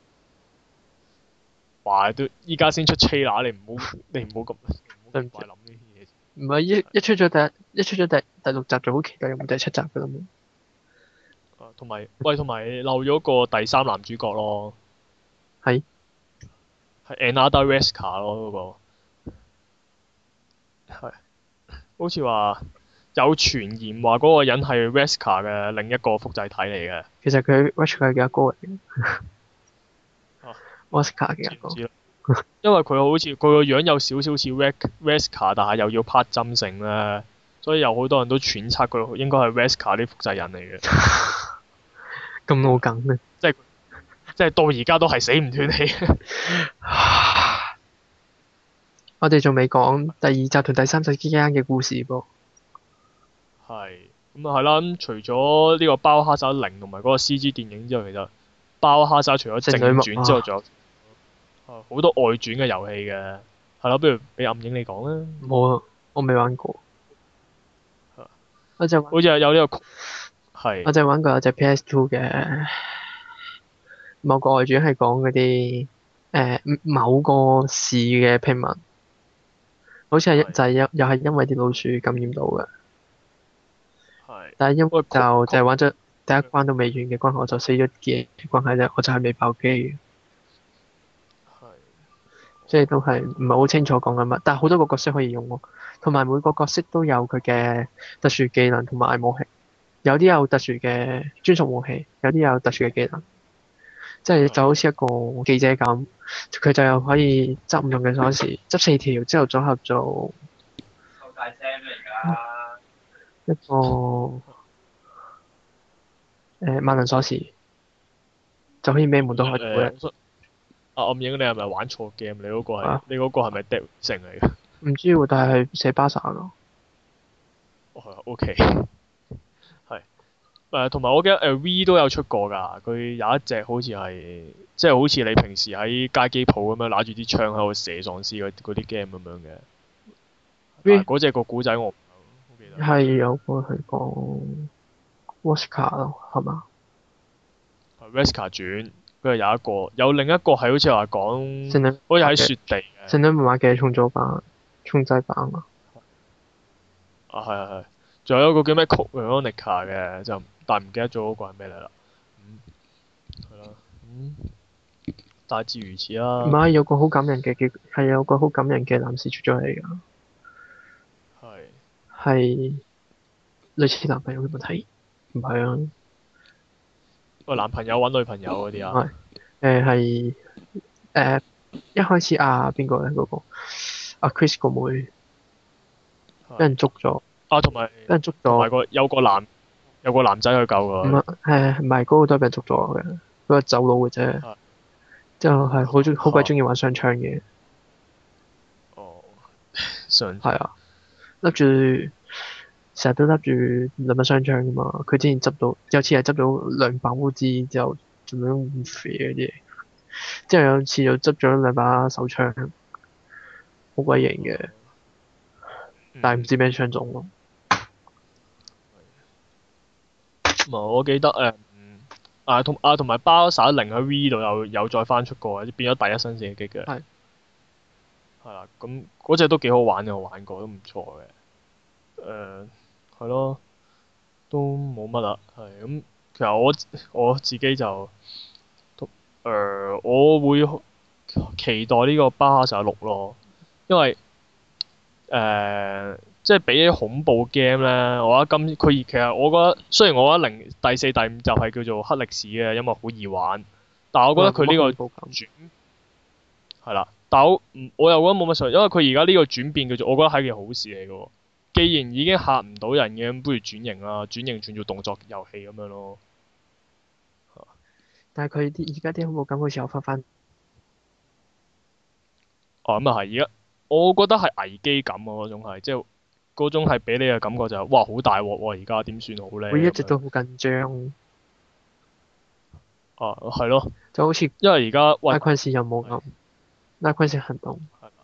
哇！都依家先出 trailer，你唔好咁快諗呢啲嘢。 唔係一出咗第六集就好期待有冇第七集㗎啦嘛。 同埋漏咗個第三男主角咯。係 Another Wesker 咯嗰個。係。好似話有傳言話嗰個人係 Wesker 嘅另一個複製體嚟嘅。 其實佢 Wesker 嘅阿哥嚟嘅。Wesker 嘅阿哥。 因為佢好似佢個樣有少少似 Wesker， 但係又要拍針性咧，所以有好多人都揣測佢應該係 Wesker 啲複製人嚟嘅。 咁老梗嘅。 即係到而家都係死唔斷氣。 我哋仲未講第二集同第三集之間嘅故事噃。 係。咁啊係啦，咁除咗呢個包哈薩0同埋嗰個 CG 電影之外，其實包哈薩除咗正傳之外，仲有好多外傳嘅遊戲嘅。係咯，不如俾暗影你講啦。 冇啊，我未玩過。 好似有呢個係。 我就玩過有隻 PS2 嘅某個外傳係講嗰啲某個市嘅平民，好似係係就係又係因為啲老鼠感染到嘅， 係。 但係因為喂， 就係玩咗第一關都未完嘅關係，我就死咗嘅關係咧，我就係未爆機嘅， 係。 即係都係唔係好清楚講緊乜，但係好多個角色可以用喎，同埋每個角色都有佢嘅特殊技能同埋武器，有啲有特殊嘅專屬武器，有啲有特殊嘅技能。即係就好似一個記者咁，佢就又可以執唔同嘅鎖匙，執4條之後組合做一個萬能鎖匙，就可以咩門都開到嘅。 暗影，你係咪玩錯 game？你嗰個係啊， 你嗰個係咪 Dead 城嚟嘅？ 唔知喎，但係寫巴薩咯。 哦，OK。係。同埋我記得V 都有出過㗎，佢有一隻好似係即係好似你平時喺街機鋪咁樣揦住啲槍喺度射喪屍嗰啲 game 咁樣嘅。 V 嗰隻個古仔我唔好記得。 係有個係講 Washka 咯，係嘛？ 係 Wesker 傳，跟住有一個，有另一個係好似話講， 聖女好似喺雪地嘅。 聖女密碼嘅重組版、重製版啊。 啊，係。仲有一個叫咩 Code Veronica 嘅，就但唔記得咗嗰個係咩嚟啦。係啦。大致如此啦。 唔係有個好感人嘅結，係有個好感人嘅男士出咗嚟㗎， 係。 係類似男朋友嘅問題，唔係啊。 喂，男朋友揾女朋友嗰啲啊？ 係一開始邊個咧嗰個Chris 個妹俾人捉咗， 啊，同埋俾人捉咗， 有個男仔去救佢。 唔係嗰個都係俾人捉咗嘅，嗰個走佬嘅啫。 係之後係好鬼中意玩雙槍嘅， 哦，上係啊，笠住成日都笠住兩把雙槍噶嘛。佢之前執到有次係執到2把烏茲之後，做咩咁肥嗰啲嘢？之後有次又執咗2把手槍，好鬼型嘅，但係唔知咩槍種咯。 我記得同埋巴薩零喺 V 度有再翻出過，變咗第一身射擊嘅。 係。 係啦，咁嗰隻都幾好玩嘅，我玩過都唔錯嘅。係咯，都冇乜啦。係咁，其實我自己就我會期待呢個巴薩6咯，因為即係比起恐怖 game 咧，我覺得其實我覺得雖然我覺得第4、第5集係叫做黑歷史嘅，因為好易玩，但係我覺得佢呢個轉係啦，但我又覺得冇乜所謂，因為佢而家呢個轉變叫做我覺得係件好事嚟嘅喎。既然已經嚇唔到人嘅，咁不如轉型啦，轉型轉做動作遊戲咁樣咯。 但係佢而家啲恐怖感好似又翻。 哦，咁啊係，而家我覺得係危機感啊，嗰種係即係嗰種係俾你嘅感覺就係、哇好大鑊喎！而家點算好咧？ 會一直都好緊張。 啊，係咯， 就好似因為而家拉昆士任務咁，拉昆士行動。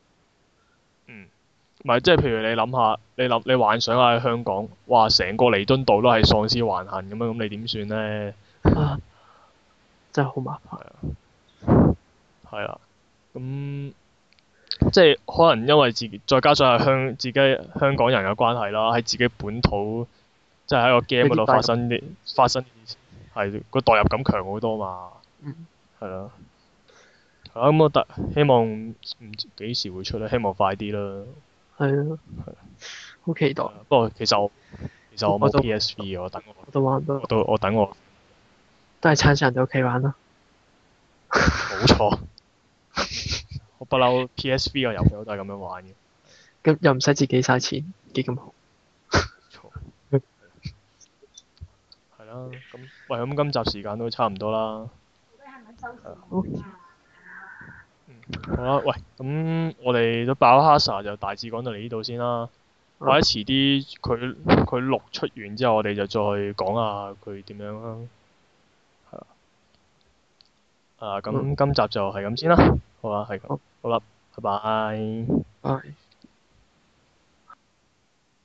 唔係即係譬如你諗下，你幻想下喺香港，哇成個彌敦道都係喪屍橫行咁樣，咁你點算咧？ 真係好麻煩。 係啊，咁即係可能因為再加上係自己香港人嘅關係啦，喺自己本土，即係喺個 game 嗰度發生係個代入感強好多嘛。係咯。咁我希望唔知幾時會出咧，希望快啲啦。 係啊。好期待。 不過其實我冇 PSV 我等我等我。 都係撐上人哋屋企玩啦。 冇錯。我不嬲 PSV 嘅遊戲我都係咁樣玩嘅。 咁又唔使自己嘥錢，幾咁好。 錯。係啦，咁今集時間都差唔多啦。好啦，喂，咁我哋都爆哈薩就大致講到嚟呢度先啦。或者遲啲佢錄出完之後，我哋就再講下佢點樣啦。係啊。咁今集就係咁先啦。好啦，係咁。好啦，拜拜。